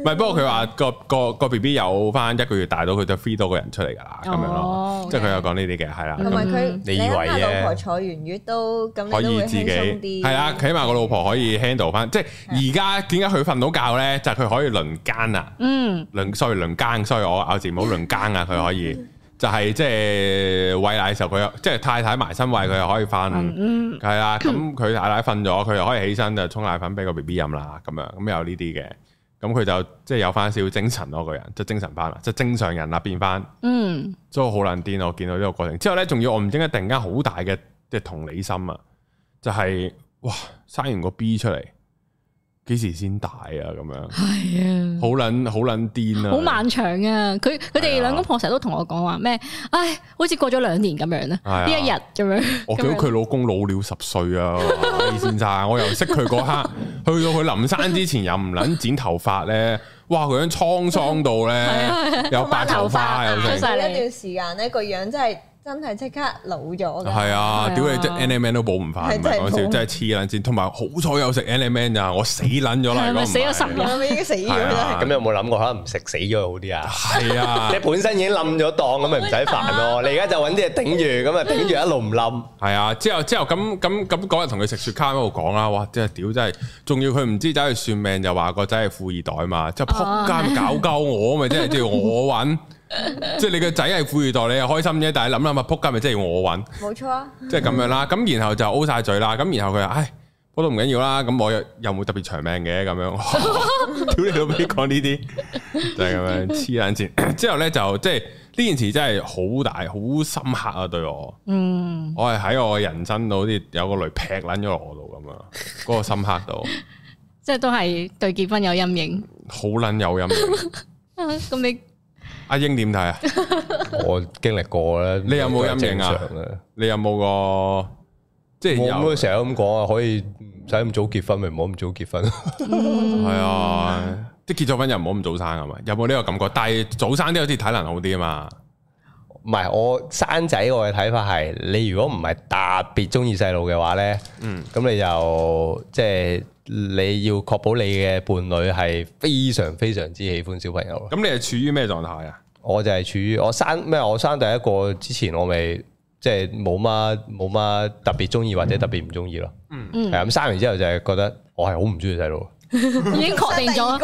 係，不過佢話個個個 B B 有翻一個月大到，佢就 free 多個人出嚟㗎啦，咁樣咯。即係佢有講呢啲嘅，係啦。 同埋佢， 你以為嘅老婆坐完月都咁可以自己係啊，起碼個老婆可以 handle 翻。即係而家點解佢瞓到覺咧？就係佢可以輪更啊。嗯。輪 sorry 輪更，sorry我咬字唔好輪更啊！佢可以。就係即係餵奶嘅時候，佢又即係太太埋身餵，佢又可以瞓，係啦、嗯。咁佢太太瞓咗，佢又可以起身就沖奶粉俾個 B B 飲啦。咁樣咁有呢啲嘅，咁佢就即係有翻少少精神咯，個人即係精神翻啦，即係正常人啦變翻。嗯，所以好撚癲，我見到呢個過程之後咧，仲要我唔知點解突然間好大嘅即係同理心啊！就係、是、哇，生完個 B 出嚟。幾時先大啊？咁樣係啊，好撚好撚癲啊！好漫長啊！佢佢哋兩公婆成日都同我講話咩？唉，好似過咗兩年咁樣咧，呢一日咁樣。 我見到佢老公老了十歲啊，A 先生，我又識佢嗰刻，去到佢臨生之前又唔撚剪頭髮咧，哇！佢樣滄桑到咧，有白頭髮又成。 一段時間咧，個樣真係。真係即刻老咗㗎！ 係啊，屌你即 N M N 都補唔翻，唔係講笑，真係黐撚線。同埋好彩有食 N M N 咋，我死撚咗啦！ 係死咗十年，已經死咗啦。 咁有冇諗過可能唔食死咗好啲啊？ 係啊， 你本身已經冧咗檔，咁咪唔使煩咯。你而家就揾啲嘢頂住，咁啊頂住一路唔冧。 係啊，之後之後咁咁咁嗰日同佢食雪茄喺度講啦，哇！真係屌真係，仲要佢唔知走去算命，就話個仔係富二代嘛，即係撲街搞鳩我咪，即係叫我揾。即係你個仔係富二代，你又開心啫。但係諗諗下，仆街咪即係我揾， 冇錯啊。 即係咁樣啦。咁然後就 O 晒嘴啦。咁然後佢話：唉，我都唔緊要啦。咁我又又冇特別長命嘅咁樣。屌你老味講呢啲，就係咁樣黐撚線。之後咧就即係呢件事真係好大、好深刻啊！對我，嗯，我係喺我人生度好似有個雷劈撚咗落我度咁樣，嗰個深刻度， 即係都係對結婚有陰影， 好撚有陰影。 咁你？ 阿英點睇啊？ 我經歷過啦， 你有冇陰影啊？你有冇個即係有？ 我成日咁講啊，可以唔使咁早結婚，咪唔好咁早結婚。 係啊，即係結咗婚又唔好咁早生係嘛？有冇呢個感覺？但係早生啲好似體能好啲啊嘛。 唔係，我生仔我嘅睇法係，你如果唔係特別中意細路嘅話咧，嗯，咁你就即係。你要確保你嘅伴侶係非常非常之喜歡小朋友。 咁你係處於咩狀態啊？ 我就係處於我生咩？我生第一個之前，我咪即係冇乜冇乜特別中意或者特別唔中意咯。嗯，係咁生完之後就係覺得我係好唔中意細路。 已經確定咗。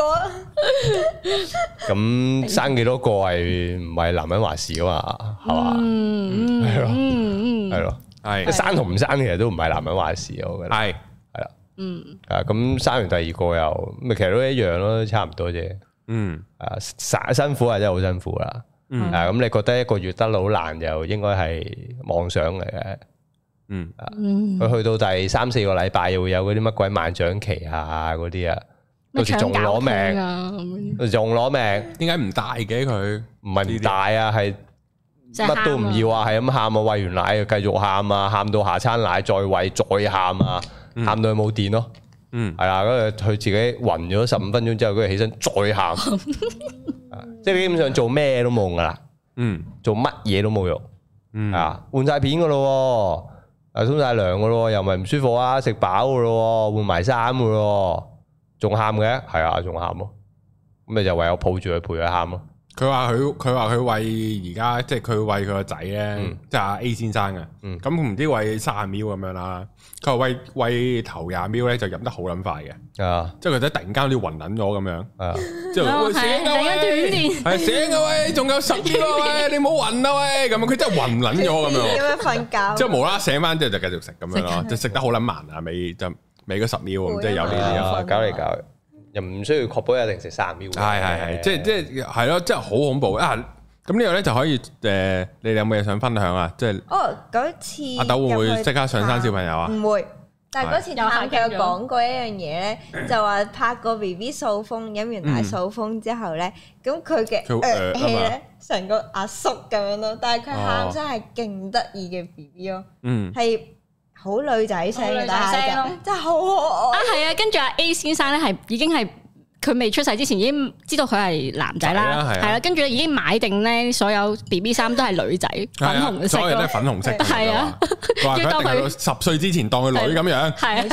咁生幾多個係唔係男人話事噶嘛？係嘛？嗯，係咯，係咯，係生同唔生其實都唔係男人話事，我覺得係。嗯，啊，咁生完第二個又，咪其實都一樣咯，差唔多啫。嗯，啊，辛苦係真係好辛苦啦。嗯，啊，咁你覺得一個月得到好難，又應該係妄想嚟嘅。嗯，啊，佢去到第三四個禮拜，又會有嗰啲乜鬼萬長期啊，嗰啲啊，到時仲攞命，到時仲攞命。點解唔大嘅佢？唔係唔大啊，係乜都唔要啊，係咁喊啊，餵完奶又繼續喊啊，喊到下餐奶再餵再喊啊。喊到佢冇電咯，嗯，係啦，跟住佢自己暈咗十五分鐘之後，跟住起身再喊，即係基本上做咩都冇用噶啦，嗯，做乜嘢都冇用，嗯，啊，換晒片噶咯，啊，沖晒涼噶咯，又唔係唔舒服啊，食飽噶咯，換埋衫噶咯，仲喊嘅，係啊，仲喊咯，咁咪就唯有抱住佢陪佢喊咯。 佢話佢佢話佢餵而家即係佢餵佢個仔咧，即係阿 A 先生啊。咁唔知餵卅秒咁樣啦。佢話餵餵頭廿秒咧就飲得好撚快嘅。啊，即係佢仔突然間好似暈撚咗咁樣。啊，之後喂醒啊喂，係醒啊喂，仲有十秒啊喂，你唔好暈啊喂，咁樣佢真係暈撚咗咁樣。 咁樣瞓覺。 之後無啦啦醒翻之後就繼續食咁樣咯，就食得好撚慢啊，尾就尾嗰十秒即係有呢啲啊，搞嚟搞去。又唔需要確保一定食三秒，係係係，即係即係係咯，即係好恐怖啊！咁呢個咧就可以誒，你哋有冇嘢想分享啊？即係哦， 嗰次阿豆會唔會即刻上山小朋友啊？ 唔會，但係嗰次探佢有講過一樣嘢咧，就話拍個 B B 掃風，飲完奶掃風之後咧，咁佢嘅誒氣咧成個阿叔咁樣咯，但係佢喊聲係勁得意嘅 B B 咯，嗯，係。好女仔聲嘅，但係真係好可愛啊！ 係啊，跟住阿 A 先生咧係已經係佢未出世之前已經知道佢係男仔啦，係啦，跟住已經買定咧所有 B B 衫都係女仔，粉紅色， 所有都係粉紅色， 係啊， 話佢一定係十歲之前當佢女咁樣， 係啊，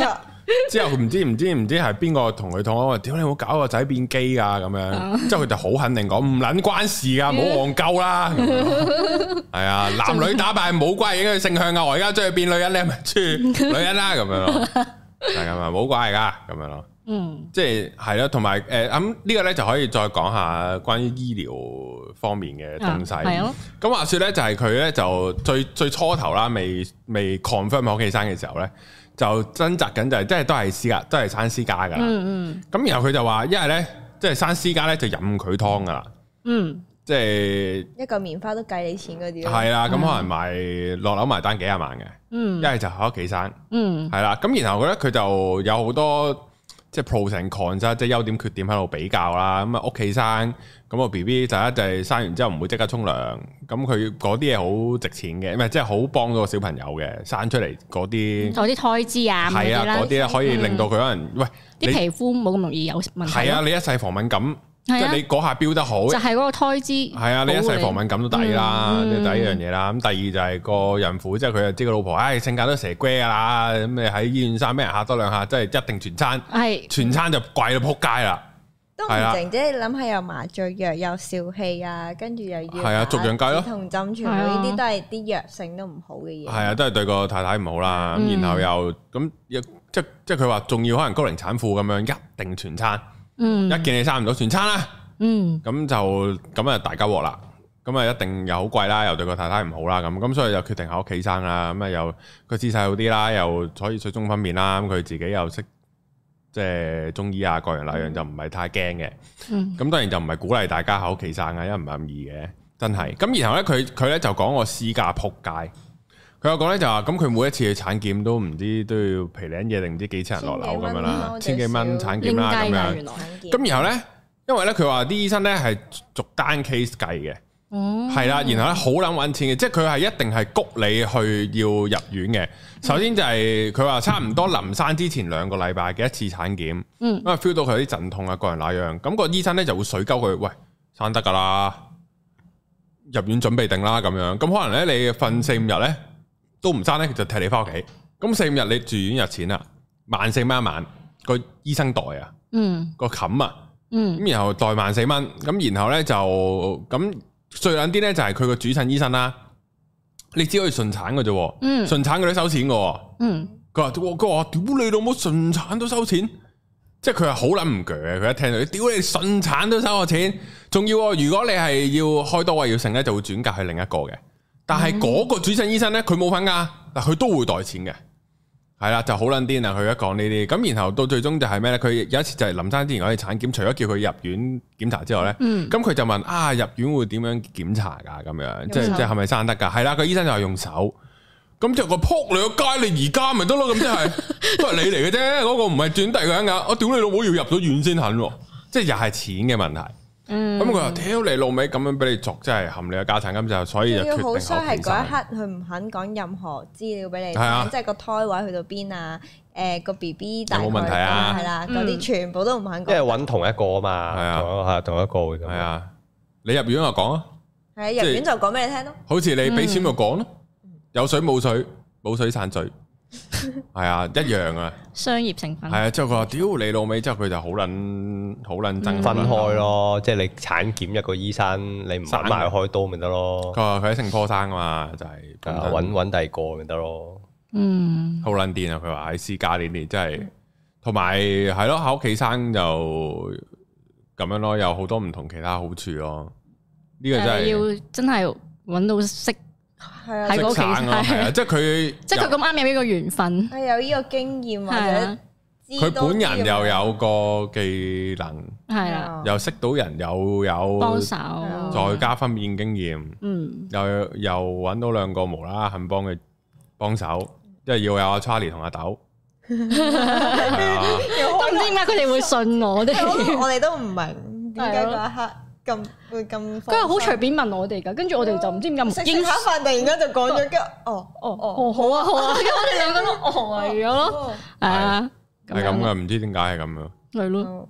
之後唔知唔知唔知係邊個同佢講話，屌你冇搞個仔變基㗎咁樣，之後佢就好肯定講唔撚關事㗎，冇戇鳩啦。係啊，男女打扮冇關係嘅性向啊，我而家將佢變女人，你係咪處女人啦咁樣咯？係咁啊，冇關係㗎咁樣咯。嗯，即係係咯，同埋誒咁呢個咧就可以再講下關於醫療方面嘅東西。係咯。咁話說咧，就係佢咧就最最初頭啦，未未 confirm 喺屋企生嘅時候咧，就掙扎緊就係即係都係私家，都係生私家噶啦。嗯嗯。咁然後佢就話，一係咧即係生私家咧就任佢劏噶啦。嗯。即係一個棉花都計你錢嗰啲。 係啦，咁可能賣落樓埋單幾廿萬嘅。嗯。一係就喺屋企生。嗯。係啦，咁然後咧佢就有好多。即係 pros and cons 啦，即係優點缺點喺度比較啦。咁啊屋企生，咁個 B B 第一就係生完之後唔會即刻沖涼，咁佢嗰啲嘢好值錢嘅，唔係即係好幫到個小朋友嘅，生出嚟嗰啲， 嗰啲胎脂啊， 係啊，嗰啲咧可以令到佢可能、嗯、喂啲皮膚冇咁容易有問題。係啊，你一世防敏感。即係你嗰下標得好， 就係嗰個胎脂。係啊，你一世防敏感都抵啦，嗯、第一樣嘢啦。咁第二就係個孕婦，即係佢就知個老婆，唉、哎，性格都蛇龜噶啦。咁你喺醫院生俾人嚇多兩下，即係一定全餐，係是全餐就貴到撲街啦。 都唔靜啫，你諗下又麻醉藥又笑氣啊，跟住又要係啊，逐樣計咯。 同針全部呢啲都係啲藥性都唔好嘅嘢。係啊，都係對個太太唔好啦。咁、嗯、然後又咁，即即係佢話仲要可能高齡產婦咁樣，一定全餐。嗯，一見你生唔到全餐啦，嗯，咁就咁啊大家鑊啦，咁啊一定又好貴啦，又對個太太唔好啦，咁咁所以就決定喺屋企生啦，咁啊又個姿勢好啲啦，又可以水中分娩啦，咁佢自己又識即係中醫啊，各樣那樣就唔係太驚嘅，嗯，咁當然就唔係鼓勵大家喺屋企生啊，因為唔係咁易嘅，真係，咁然後咧佢佢咧就講個私家仆街。佢有講咧就話，咁佢每一次去產檢都唔知都要皮領嘢定唔知幾千人落樓咁樣啦，千幾蚊產檢啦咁樣。咁然後咧，因為咧佢話啲醫生咧係逐單 case 計嘅，係啦、嗯，然後咧好撚揾錢嘅，即係佢係一定係谷你去要入院嘅。首先就係佢話差唔多臨生之前兩個禮拜嘅一次產檢，嗯、因為 feel 到佢有啲陣痛啊，個人那樣，咁、個醫生咧就會水鳩佢，喂，生得㗎啦，入院準備定啦咁樣。咁可能咧你瞓四五日咧。都唔生咧，就踢你翻屋企。咁四五日你住院入錢啦，萬四蚊一晚個醫生袋啊，嗯，個冚啊，嗯，咁然後袋萬四蚊，咁然後咧就咁最撚啲咧就係佢個主診醫生啦，你只可以順產嘅啫，嗯，順產佢都收錢嘅，嗯，佢話佢話屌你老母順產都收錢，即係佢係好撚唔鋸嘅，佢一聽到你屌你順產都收我錢，仲要如果你係要開刀位要剩咧，就會轉介去另一個嘅。但係嗰個主診醫生咧，佢冇份噶，但佢都會袋錢嘅，係啦，就好撚癲啊！佢一講呢啲，咁然後到最終就係咩咧？佢有一次就係臨生之前我哋產檢，除咗叫佢入院檢查之外咧，咁佢、嗯、就問啊入院會點樣檢查噶？咁樣即係即係係咪生得噶？係啦，個醫生就係用手，咁就個撲你個街，你而家咪得咯？咁即係都係你嚟嘅啫，嗰、嗰個唔係轉第二個人噶，我屌你老母要入咗院先肯，即係又係錢嘅問題。咁佢話屌你老味咁樣俾你作，真係含你個家產，咁就所以就決定好衰係嗰一刻佢唔肯講任何資料俾你聽，啊、即係個胎位去到邊啊，誒個 B B 大概冇問題啊，係啦，嗰啲全部都唔肯講，因為揾同一個啊嘛，係啊，係同一個嘅， 係啊，你入院就講啊， 係入院就講俾你聽咯， 好似你俾錢就講咯，嗯、有水冇水冇水散水。係啊，一樣啊， 商業成分係啊，之後佢話屌你老味，之後佢就好捻好捻爭分開咯，即係你產檢一個醫生，你唔揾埋開刀咪得咯。 佢話佢喺聖科生啊嘛，就係揾揾第二個咪得咯。 嗯， 好捻癲啊！佢話喺私家呢啲真係，同埋係咯喺屋企生就咁樣咯，有好多唔同其他好處咯。呢、這個真係要真係揾到識。 喺屋企係啊，即係佢， 即係佢咁啱有呢個緣分， 係有呢個經驗或者佢本人又有個技能， 係啊， 又識到人，又有幫手， 再加分辨經驗，嗯，又又搵到兩個無啦啦肯幫嘅幫手，即係要有阿 Charlie 同阿豆， 都唔知點解佢哋會信我哋， 我哋都唔明點解嗰一刻。咁會咁， 跟住好隨便問我哋噶，跟住我哋就唔知點解食下飯突然間就講咗，跟住哦哦哦好啊好啊，跟住我哋兩個都呆咗咯，係啊， 係咁噶，唔知點解係咁樣， 係咯，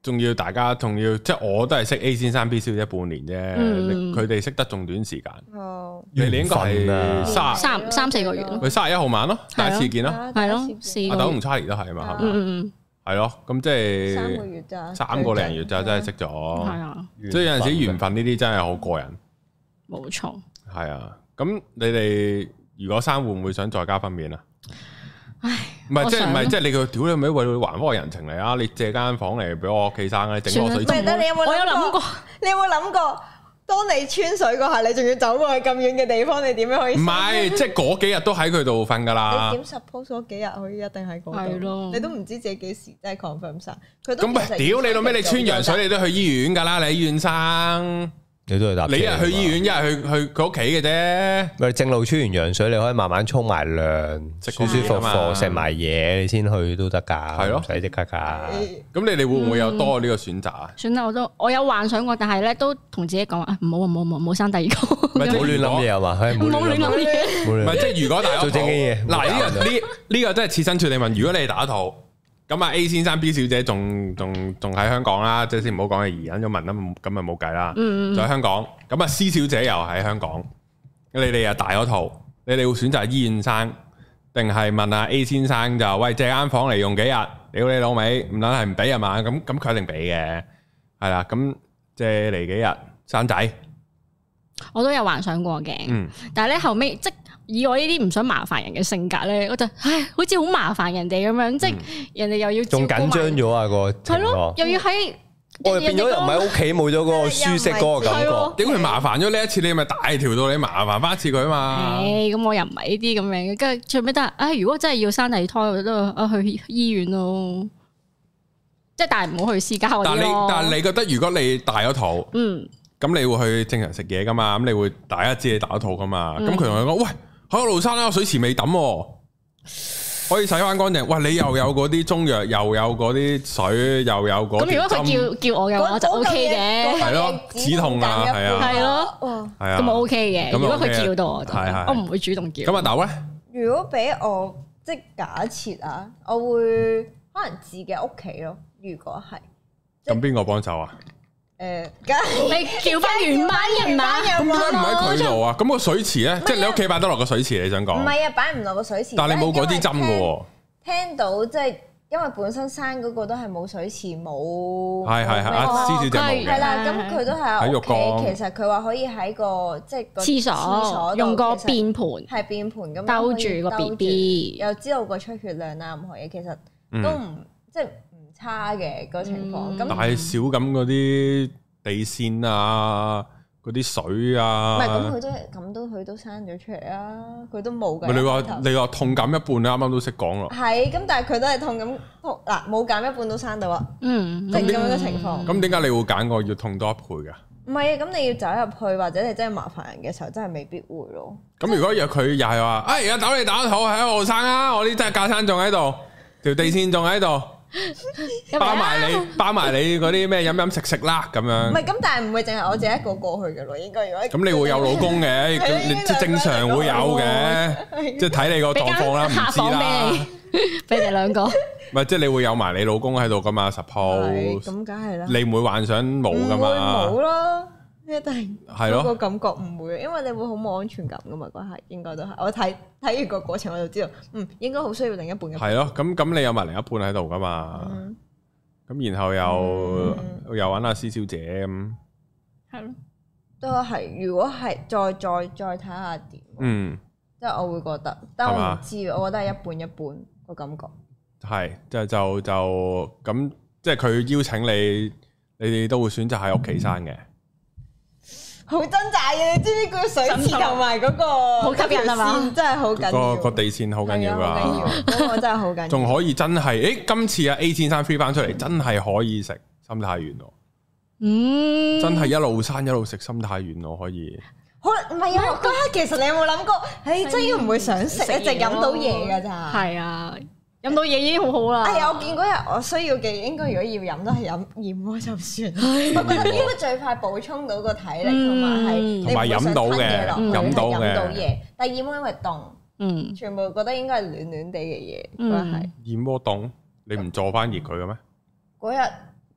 仲要大家仲要，即係我都係識 A 先生 B 小姐半年啫，佢哋識得仲短時間。哦，你哋應該係三三三四個月咯。 佢三十一號晚咯，第一次見咯， 係咯， 阿豆同 Charlie 都係嘛， 嗯嗯， 係咯，咁即係三個月咋， 三個零月就真係識咗。係啊，即係有陣時緣分呢啲真係好過癮。 冇錯。係啊，咁你哋如果生會唔會想再加分娩啊？ 唉， 唔係即係唔係即係你個屌你咪為還翻個人情嚟啊！你借間房嚟俾我屋企生咧，整個水池。 唔係，你有冇我有諗過？你有冇諗過？當你穿水嗰下，你仲要走過去咁遠嘅地方，你點樣可以？唔係，即係嗰幾日都喺佢度瞓噶啦。 你點 suppose 嗰幾日可以一定喺嗰度？ 係咯， 你都唔知自己幾時真係 confirm 晒。佢都咁咪屌你老味！你穿羊水，你都去醫院噶啦，你喺醫院生。你都係搭車，你一係去醫院，一係去去佢屋企嘅啫。咪正路穿完羊水，你可以慢慢沖埋涼，舒舒服服食埋嘢，你先去都得噶。係咯，唔使即刻噶。咁你哋會唔會有多呢個選擇啊？算啦，我都我有幻想過，但係咧都同自己講啊，唔好唔好唔好唔好生第二個。唔係唔好亂諗嘢啊嘛，唔好亂諗嘢。唔係即係如果大家做正經嘢，嗱呢個呢呢個真係設身處地問，如果你打肚。咁啊 A 先生 B 小姐仲仲仲喺香港啦，即係先唔好講嘅移民咗民啦，咁咪冇計啦。嗯嗯。就喺香港，咁啊 C 小姐又喺香港，你哋又大咗肚，你哋會選擇醫院生，定係問阿 A 先生就喂借間房嚟用幾日？屌你老味，唔撚係唔俾啊嘛？咁咁佢一定俾嘅，係啦。咁借嚟幾日生仔？我都有幻想過嘅，嗯，但係咧後尾即以我呢啲唔想麻煩人嘅性格咧，我就唉，好似好麻煩人哋咁樣，即係人哋又要仲緊張咗啊個，係咯，又要喺我變咗又唔喺屋企，冇咗嗰個舒適嗰個感覺。點會麻煩咗呢一次？你咪大條到你麻煩翻一次佢啊嘛？誒，咁我又唔係呢啲咁樣嘅，跟住最尾都係，唉，如果真係要生第二胎，我都啊去醫院咯，即係但係唔好去私家嗰啲咯。但係你但係你覺得如果你大咗肚，嗯，咁你會去正常食嘢噶嘛？咁你會大家知你大咗肚噶嘛？咁佢同你講喂。喺個路山啦，水池未抌，可以洗翻乾淨。哇！你又有嗰啲中藥，又有嗰啲水，又有嗰啲。咁如果佢叫叫我嘅話，就 O K 嘅。係咯，止痛啊，係啊，係咯，係啊，咁我 O K 嘅。如果佢叫到我就，我唔會主動叫。咁阿豆咧？如果俾我即係假設啊，我會可能自己屋企咯。如果係，咁邊個幫手啊？誒，你叫翻原班人馬，咁點解唔喺佢度啊？咁個水池咧，即係你屋企擺得落個水池，你想講？唔係啊，擺唔落個水池。但係你冇嗰啲針嘅喎。聽到即係因為本身生嗰個都係冇水池冇。係係係，阿施小姐冇嘅。係啦，咁佢都係喺屋企。其實佢話可以喺個即係個廁所用個便盤，係便盤咁兜住個 B B，又知道個出血量啊，任何嘢其實都唔即係。差嘅個情況，咁但係少咁嗰啲地線啊，嗰啲水啊，唔係咁佢都咁都佢都生咗出嚟啊，佢都冇嘅。你話你話痛減一半，你啱啱都識講咯。係，咁但係佢都係痛咁痛嗱，冇減一半都生到啊。嗯，即係咁樣嘅情況。咁點解你會揀個要痛多一倍㗎？唔係啊，咁你要走入去或者你真係麻煩人嘅時候，真係未必會咯。咁如果若佢又係話，哎呀，豆你打肚喺度生啊，我啲真係架生仲喺度，條地線仲喺度。包埋你，包埋你嗰啲咩飲飲食食啦咁樣。唔係咁，但係唔會淨係我自己一個過去嘅咯，應該如果咁你會有老公嘅，即係正常會有嘅，即係睇你個狀況啦，唔知啦。俾你哋兩個，唔係即係你會有埋你老公喺度噶嘛 ？Suppose 咁梗係啦，你唔會幻想冇噶嘛？冇咯。一定係咯，個感覺唔會，因為你會好冇安全感噶嘛，嗰係應該都係。我睇睇完個過程，我就知道，嗯，應該好需要另一半嘅。係咯，咁咁你有埋另一半喺度噶嘛？咁、嗯、然後又、嗯、又揾阿施小姐咁，係咯，都係。如果係再再再睇下點，嗯，即係我會覺得，但係我唔知，吧我覺得係一半一半個感覺。係，就就就咁，即係佢邀請你，你哋都會選擇喺屋企生嘅。好掙扎嘅，你知唔知個水池同埋嗰個好吸引係嘛？真係好緊要，個個地線好緊要噶，嗰個真係好緊要。仲可以真係，誒，今次阿 A 先生飛翻出嚟，真係可以食心太軟咯。嗯，真係一路生一路食心太軟咯，可以。好唔係啊？嗰刻其實你有冇諗過？誒，真係唔會想食，一直飲到嘢噶咋？係啊。飲到嘢已經好好啦。哎呀，我見嗰日我需要嘅應該如果要飲都係飲燕窩就算。我覺得應該最快補充到個體力同埋係同埋飲到嘅，飲到嘅。飲到嘢，但係燕窩因為凍，嗯，全部覺得應該係暖暖地嘅嘢，應該係。燕窩凍，你唔坐翻熱佢嘅咩？嗰日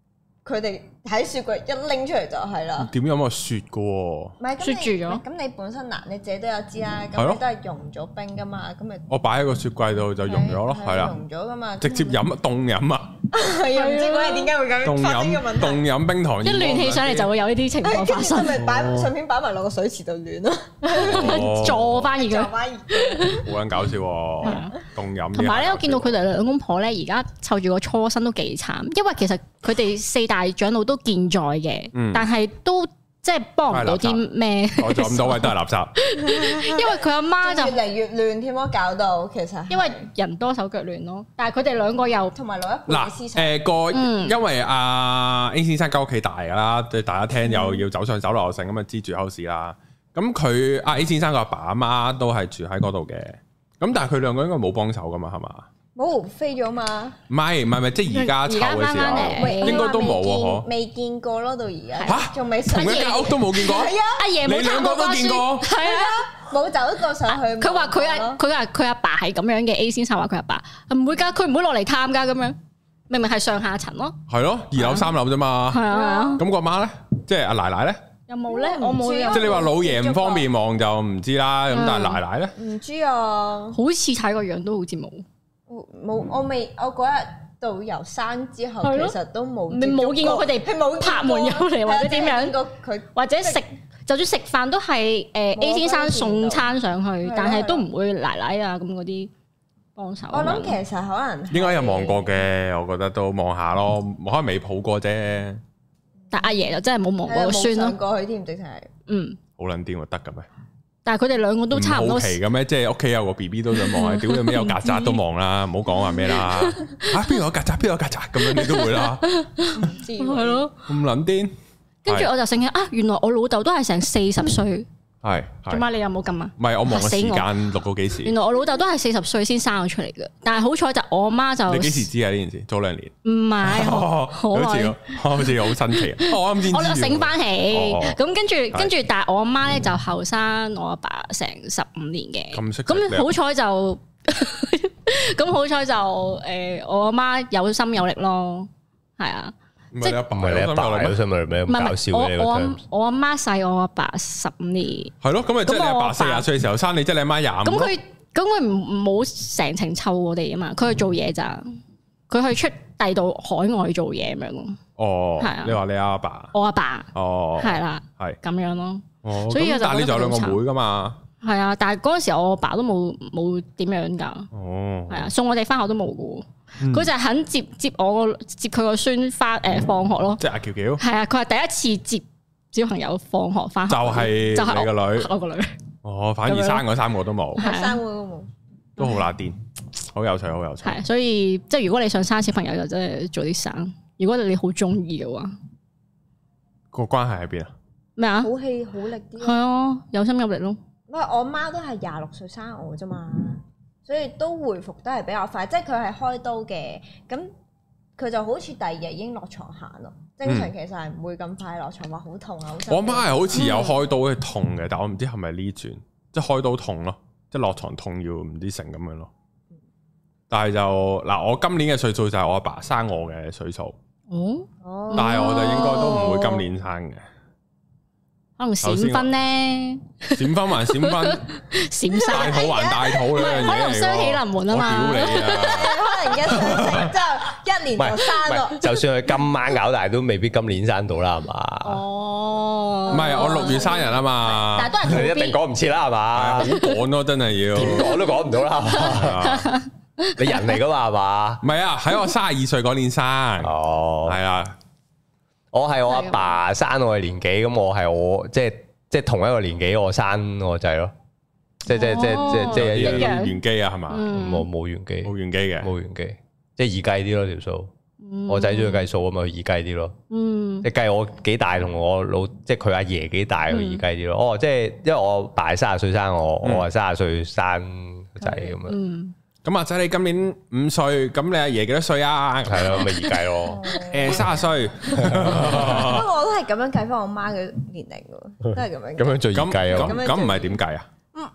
佢哋喺雪櫃一拎出嚟就係啦。點有冇雪嘅喎？ 唔係雪住咗。 咁你本身嗱你自己都有知啦，咁你都係溶咗冰噶嘛，咁咪我擺喺個雪櫃度就溶咗咯，係啦。 溶咗噶嘛， 直接飲凍飲啊！ 係啊，唔知嗰日點解會咁發生呢個問題？ 凍飲冰糖， 一暖起上嚟就會有呢啲情況發生。 咪擺順便擺埋落個水池度暖咯， 坐翻熱嘅。 坐翻熱。 好撚搞笑喎！凍飲。 同埋咧，我見到佢哋兩公婆咧，而家湊住個初生都幾慘，因為其實佢哋四大長老都健在嘅，嗯、但係都即係幫唔到啲咩。 我咗咁多位都係垃圾， 因為佢阿媽就越嚟越亂添咯，搞到其實因為人多手腳亂咯。但係佢哋兩個又同埋老一輩嘅思想。 嗱誒個，因為阿 A 先生間屋企大㗎啦，對大家聽又要走上走落成咁啊，支住口市啦。咁佢阿 A 先生個阿爸阿媽都係住喺嗰度嘅。咁但係佢兩個應該冇幫手㗎嘛，係嘛？ 冇飛咗嘛？ 唔係唔係唔係，即係而家湊嘅時候，應該都冇喎，嗬？ 未見過咯，到而家嚇， 仲未同一間屋都冇見過。 係啊， 阿爺冇參過關書。係啊， 冇走過上去。 佢話佢阿佢話佢阿爸係咁樣嘅。A 先生話佢阿爸唔會㗎，佢唔會落嚟探㗎咁樣。明明係上下層咯。係咯，二樓三樓啫嘛。係啊。咁個媽咧，即係阿奶奶咧？ 有冇咧？我冇。 即係你話老爺唔方便望就唔知啦。咁但係奶奶咧？ 唔知啊。好似睇個樣都好似冇。 冇，我未，我嗰日到遊山之後，其實都冇， 你冇見過佢哋拍門入嚟或者點樣，或者食，就算食飯都係誒 A 先生送餐上去，但係都唔會奶奶啊咁嗰啲幫手。 我諗其實可能應該有望過嘅，我覺得都望下咯，可能未抱過啫。 但阿爺就真係冇望過個孫咯， 過去添，直情係，嗯， 好撚癲喎，得嘅咩？ 但係佢哋兩個都差唔多。 好奇嘅咩？即係屋企有個 B B 都想望，屌有咩有曱甴都望啦，唔好講話咩啦。嚇邊度有曱甴？邊度有曱甴？咁樣你都會啦。 唔知係咯。 咁撚癲。 跟住我就醒起啊，原來我老豆都係成四十歲。 係。 做乜你有冇咁啊？ 唔係我望個時間錄到幾時？ 原來我老豆都係四十歲先生我出嚟嘅，但係好彩就我媽就。 你幾時知啊？呢件事早兩年。 唔係，好耐。 好似好新奇。我啱先。 我就醒翻起，咁跟住跟住，但係我阿媽咧就後生我阿爸成十五年嘅。咁識。咁好彩就，咁好彩就誒，我阿媽有心有力咯，係啊。 即係你阿爸，唔係你阿爸，有心有力咩？咁搞笑嘅呢個 term。 我阿媽細我阿爸十五年。係咯，咁咪即係你阿爸四廿歲嘅時候生你，即係你阿媽廿五。 咁佢咁佢唔冇成程湊我哋啊嘛，佢去做嘢咋，佢去出第度海外做嘢咁樣咯。 哦，係啊。你話你阿爸？ 我阿爸。 哦。 係啦。係。咁樣咯。哦。所以就但係你仲有兩個妹噶嘛？ 係啊，但係嗰陣時我阿爸都冇冇點樣噶。哦。係啊，送我哋翻學都冇噶。佢就係肯接接我接佢個孫翻誒放學咯， 即係阿喬喬。係啊，佢係第一次接小朋友放學翻學， 就係就係你個女， 我個女。 哦，反而生嗰三個都冇， 三個都冇， 都好乸癲，好有趣，好有趣。 係，所以即係如果你想生小朋友，就真係早啲生。如果你好中意嘅話， 個關係喺邊啊？ 咩啊？ 好氣好力啲。 係啊，有心有力咯。 喂，我媽都係廿六歲生我啫嘛。所以都回復得係比較快，即係佢係開刀嘅，咁佢就好似第二日已經落床行咯。正常其實係唔會咁快落床，話好痛啊！好我媽係好似有開刀係痛嘅，但我唔知係咪呢轉，即係開刀痛咯，即係落床痛要唔知成咁樣咯。但係就嗱，我今年嘅歲數就係我阿爸生我嘅歲數，哦，但係我就應該都唔會今年生嘅。 可能閃婚咧， 閃婚還閃婚， 閃生大肚還大肚呢樣嘢， 可能雙喜臨門啊嘛！ 我屌你啊！ 可能一生成之後一年就生咯。 就算佢今晚搞大，都未必今年生到啦，係嘛？ 哦， 唔係我六月生日啊嘛， 但係都係你一定講唔切啦，係嘛？ 好趕咯，真係要點講都講唔到啦。你人嚟噶嘛，係嘛？ 唔係啊，喺我三十二歲嗰年生，哦，係啊。 我係我阿爸生我嘅年紀，咁我係我即係即係同一個年紀，我生我仔咯，即係即係即係即係即係一樣原機啊，係嘛？ 冇冇原機， 冇原機嘅， 冇原機，即係易計啲咯條數。我仔中意計數啊嘛，易計啲咯。嗯，即係計我幾大同我老，即係佢阿爺幾大，佢易計啲咯。哦，即係因為我爸三十歲生我，我係三十歲生個仔咁樣。嗯。 咁阿仔你今年五歲，咁你阿爺幾多歲啊？ 係咯，咪易計咯。 誒，三十歲。 不過我都係咁樣計翻我媽嘅年齡嘅，都係咁樣。 咁樣最易計啊！ 咁咁唔係點計啊？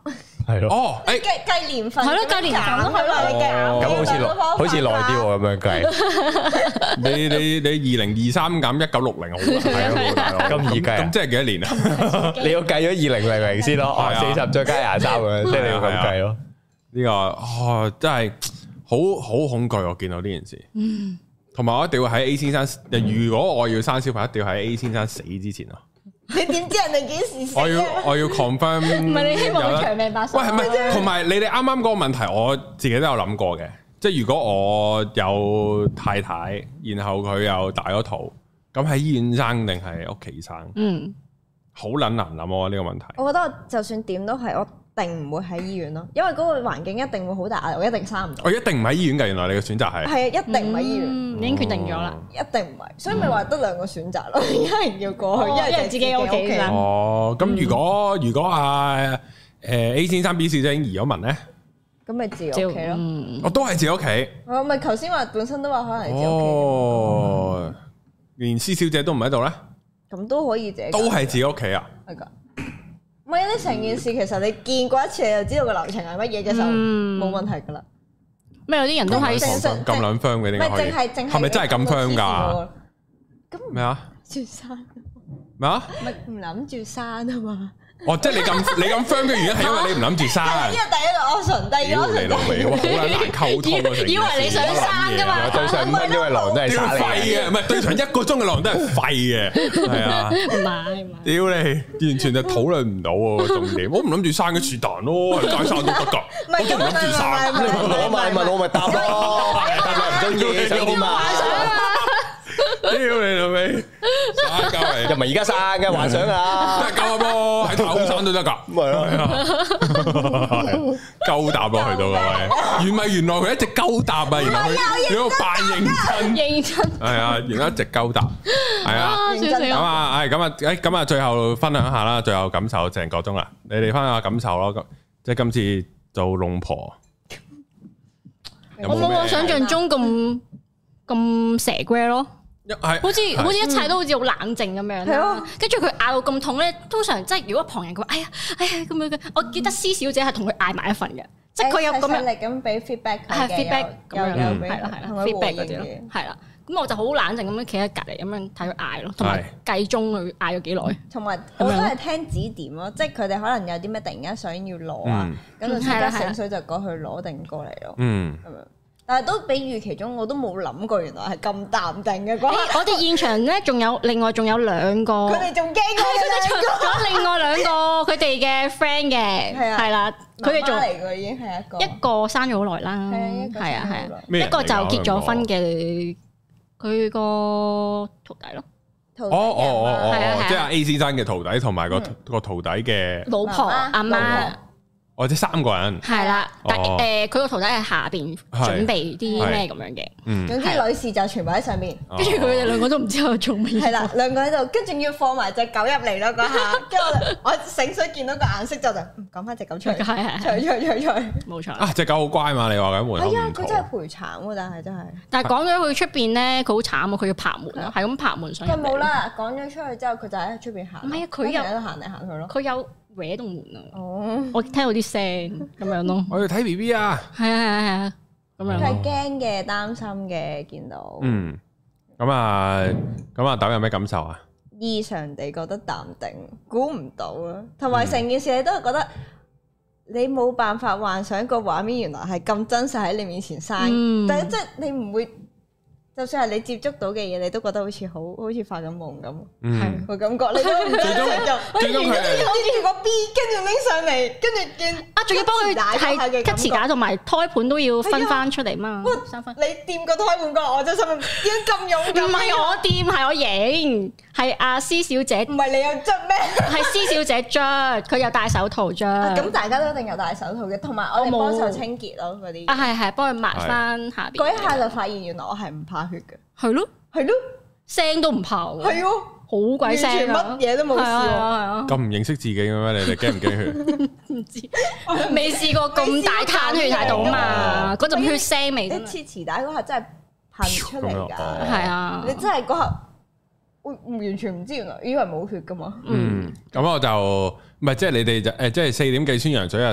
係咯。 哦，誒計計年份， 係咯，計年份咯，係咯， 你計。 咁好似耐，好似耐啲喎，咁樣計。 你你你二零二三減一九六零好係咯， 咁易計。 咁即係幾多年啊？ 你要計咗二零零零先咯，四十再加廿三咁樣，即係你要咁計咯。呢個哦真係好好恐懼，我見到呢件事。嗯。同埋我一定要喺 A 先生，如果我要生小朋友，一定要喺 A 先生死之前啊！ 你點知人哋幾時死？ 我要我要 confirm。 唔係你希望佢長命百歲？ 喂，係咪？同埋你哋啱啱嗰個問題，我自己都有諗過嘅。即係如果我有太太，然後佢又大咗肚，咁喺醫院生定係屋企生？嗯，好撚難諗啊！呢個問題。 我覺得我就算點都係我。定唔會喺醫院咯，因為嗰個環境一定會好大壓力，我一定生唔到。 我一定唔喺醫院㗎，原來你嘅選擇係係啊，一定唔喺醫院， 已經決定咗啦， 一定唔係，所以咪話得兩個選擇咯，一係要過去，一係自己屋企生。 哦，咁如果如果啊誒 A 先生 B 小姐已經移咗民咧， 咁咪自己屋企咯。 我都係自己屋企。 我咪頭先話本身都話可能係自己屋企。 哦，連 C 小姐都唔喺度咧， 咁都可以自己。 都係自己屋企啊？ 係㗎。唔係，你成件事其實你見過一次，你就知道個流程係乜嘢嘅時候，冇問題噶啦。 咩有啲人都係咁撚 firm 嘅，點解可以？係咪真係咁 firm 㗎？咩啊？ 住山咩啊？ 咪唔諗住山啊嘛！ 哦，即係你咁你咁 friend 嘅原因係因為你唔諗住生。 呢個第一個 option，第二個 option 你老味，好撚難溝通啊！ 以為你想生噶嘛？ 對上五分鐘嘅狼都係廢嘅，唔係對上一個鐘嘅狼都係廢嘅，係啊， 唔係唔係， 屌你，完全就討論唔到喎重點。我唔諗住生嘅是但咯，街生都得㗎，我都唔諗住生。 我咪問我咪答咯，答你唔中意想點啊？ 屌你老味，生交嚟， 又唔係而家生嘅幻想啊， 都係交咯，喺太空生都得噶， 咁咪咯， 鳩答落去到嘅喂，原咪原來佢一直鳩答啊，原來佢你個扮認真， 認真， 係啊，原來一直鳩答，係啊，咁啊，係咁啊，誒，咁啊，最後分享下啦，最後感受成個鐘啦，你哋翻下感受咯，咁即係今次做龍婆， 我冇我想象中咁咁蛇龜咯。好似好似一切都好似好冷靜咁樣啦，跟住佢嗌到咁痛咧，通常即係如果旁人佢話哎呀哎呀咁樣嘅，我記得施小姐係同佢嗌埋一份嘅，即係佢有咁樣力咁俾 feedback 佢嘅， 係 feedback 咁樣，係啦係啦 feedback 嗰啲咯，係啦，咁我就好冷靜咁樣企喺隔離咁樣睇佢嗌咯，同埋計鐘佢嗌咗幾耐， 同埋我都係聽指點咯，即係佢哋可能有啲咩突然間想要攞啊，咁就即刻醒水就過去攞定過嚟咯，嗯，咁樣。但係都比預期中，我都冇諗過原來係咁淡定嘅。 我哋現場咧仲有另外仲有兩個， 佢哋仲驚過兩個， 仲有另外兩個佢哋嘅 friend 嘅，係啦，佢哋仲嚟嘅已經係一個， 一個生咗好耐啦，係啊係啊，一個就結咗婚嘅，佢個徒弟咯。 哦哦哦哦，即係 A 先生嘅徒弟同埋個個徒弟嘅老婆阿媽。 或者三個人係啦，但誒佢個徒弟喺下邊準備啲咩咁樣嘅， 嗯，總之女士就全部喺上邊， 跟住佢哋兩個都唔知喺度做乜嘢， 係啦，兩個喺度，跟住要放埋隻狗入嚟咯嗰下，跟住我我醒水見到個顏色就就趕翻隻狗出嚟，係係，出出出出，冇錯啊！ 隻狗好乖嘛，你話緊門口唔係啊，佢真係陪產喎，但係真係， 但係講咗佢出邊咧，佢好慘啊，佢要拍門啊，係咁拍門上。 佢冇啦，趕咗出去之後，佢就喺出邊行。 唔係啊，佢又喺度行嚟行去咯。 佢有搲動門啊！哦，我聽到啲聲咁樣咯。 我要睇 B B 啊！ 係啊係啊係啊，咁樣。 佢係驚嘅，擔心嘅，見到。 嗯，咁啊，咁啊，豆有咩感受啊？ 異常地覺得淡定，估唔到啊！同埋成件事你都係覺得你冇辦法幻想個畫面原來係咁真實喺你面前生，嗯、但係即係你唔會。就算係你接觸到嘅嘢，你都覺得好似好好似發緊夢咁，係個感覺。你都唔最終就，最終佢係好似個 B，跟住拎上嚟，跟住見啊，仲要幫佢係吉臍帶同埋胎盤都要分翻出嚟嘛。三分。 你掂個胎盤過，我真心點解咁勇敢？ 唔係我掂，係我影，係阿施小姐。唔係你有捽咩？係施小姐捽，佢有戴手套捽。 咁大家都一定有戴手套嘅，同埋我哋幫手清潔咯嗰啲。 啊係係，幫佢抹翻下邊。 嗰一下就發現原來我係唔怕血嘅。 係咯，係咯，聲都唔怕喎。係咯，好鬼聲， 乜嘢都冇事。係啊，係啊。 咁唔認識自己嘅咩？你哋驚唔驚血？ 唔知，未試過咁大攤血喺度嘛？嗰陣血腥味。 你切臍帶嗰下真係噴出嚟㗎。 係啊， 你真係嗰下，我完全唔知原來以為冇血㗎嘛。 嗯，咁我就唔係即係你哋就誒，即係四點幾穿羊水啊，十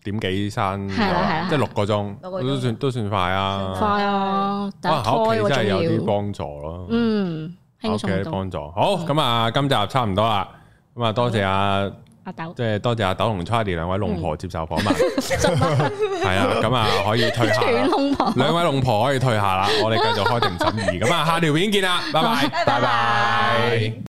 點幾生，即係六個鐘，都算都算快啊！ 快啊！ 喺屋企真係有啲幫助咯。 嗯，輕鬆啲幫助。好，咁啊，今集差唔多啦。咁啊，多謝阿阿豆，即係多謝阿豆同 Charlie 兩位龍婆接受訪問。係啊，咁啊可以退下。兩位龍婆可以退下啦，我哋繼續開庭審議。咁啊，下條片見啦，拜拜，拜拜。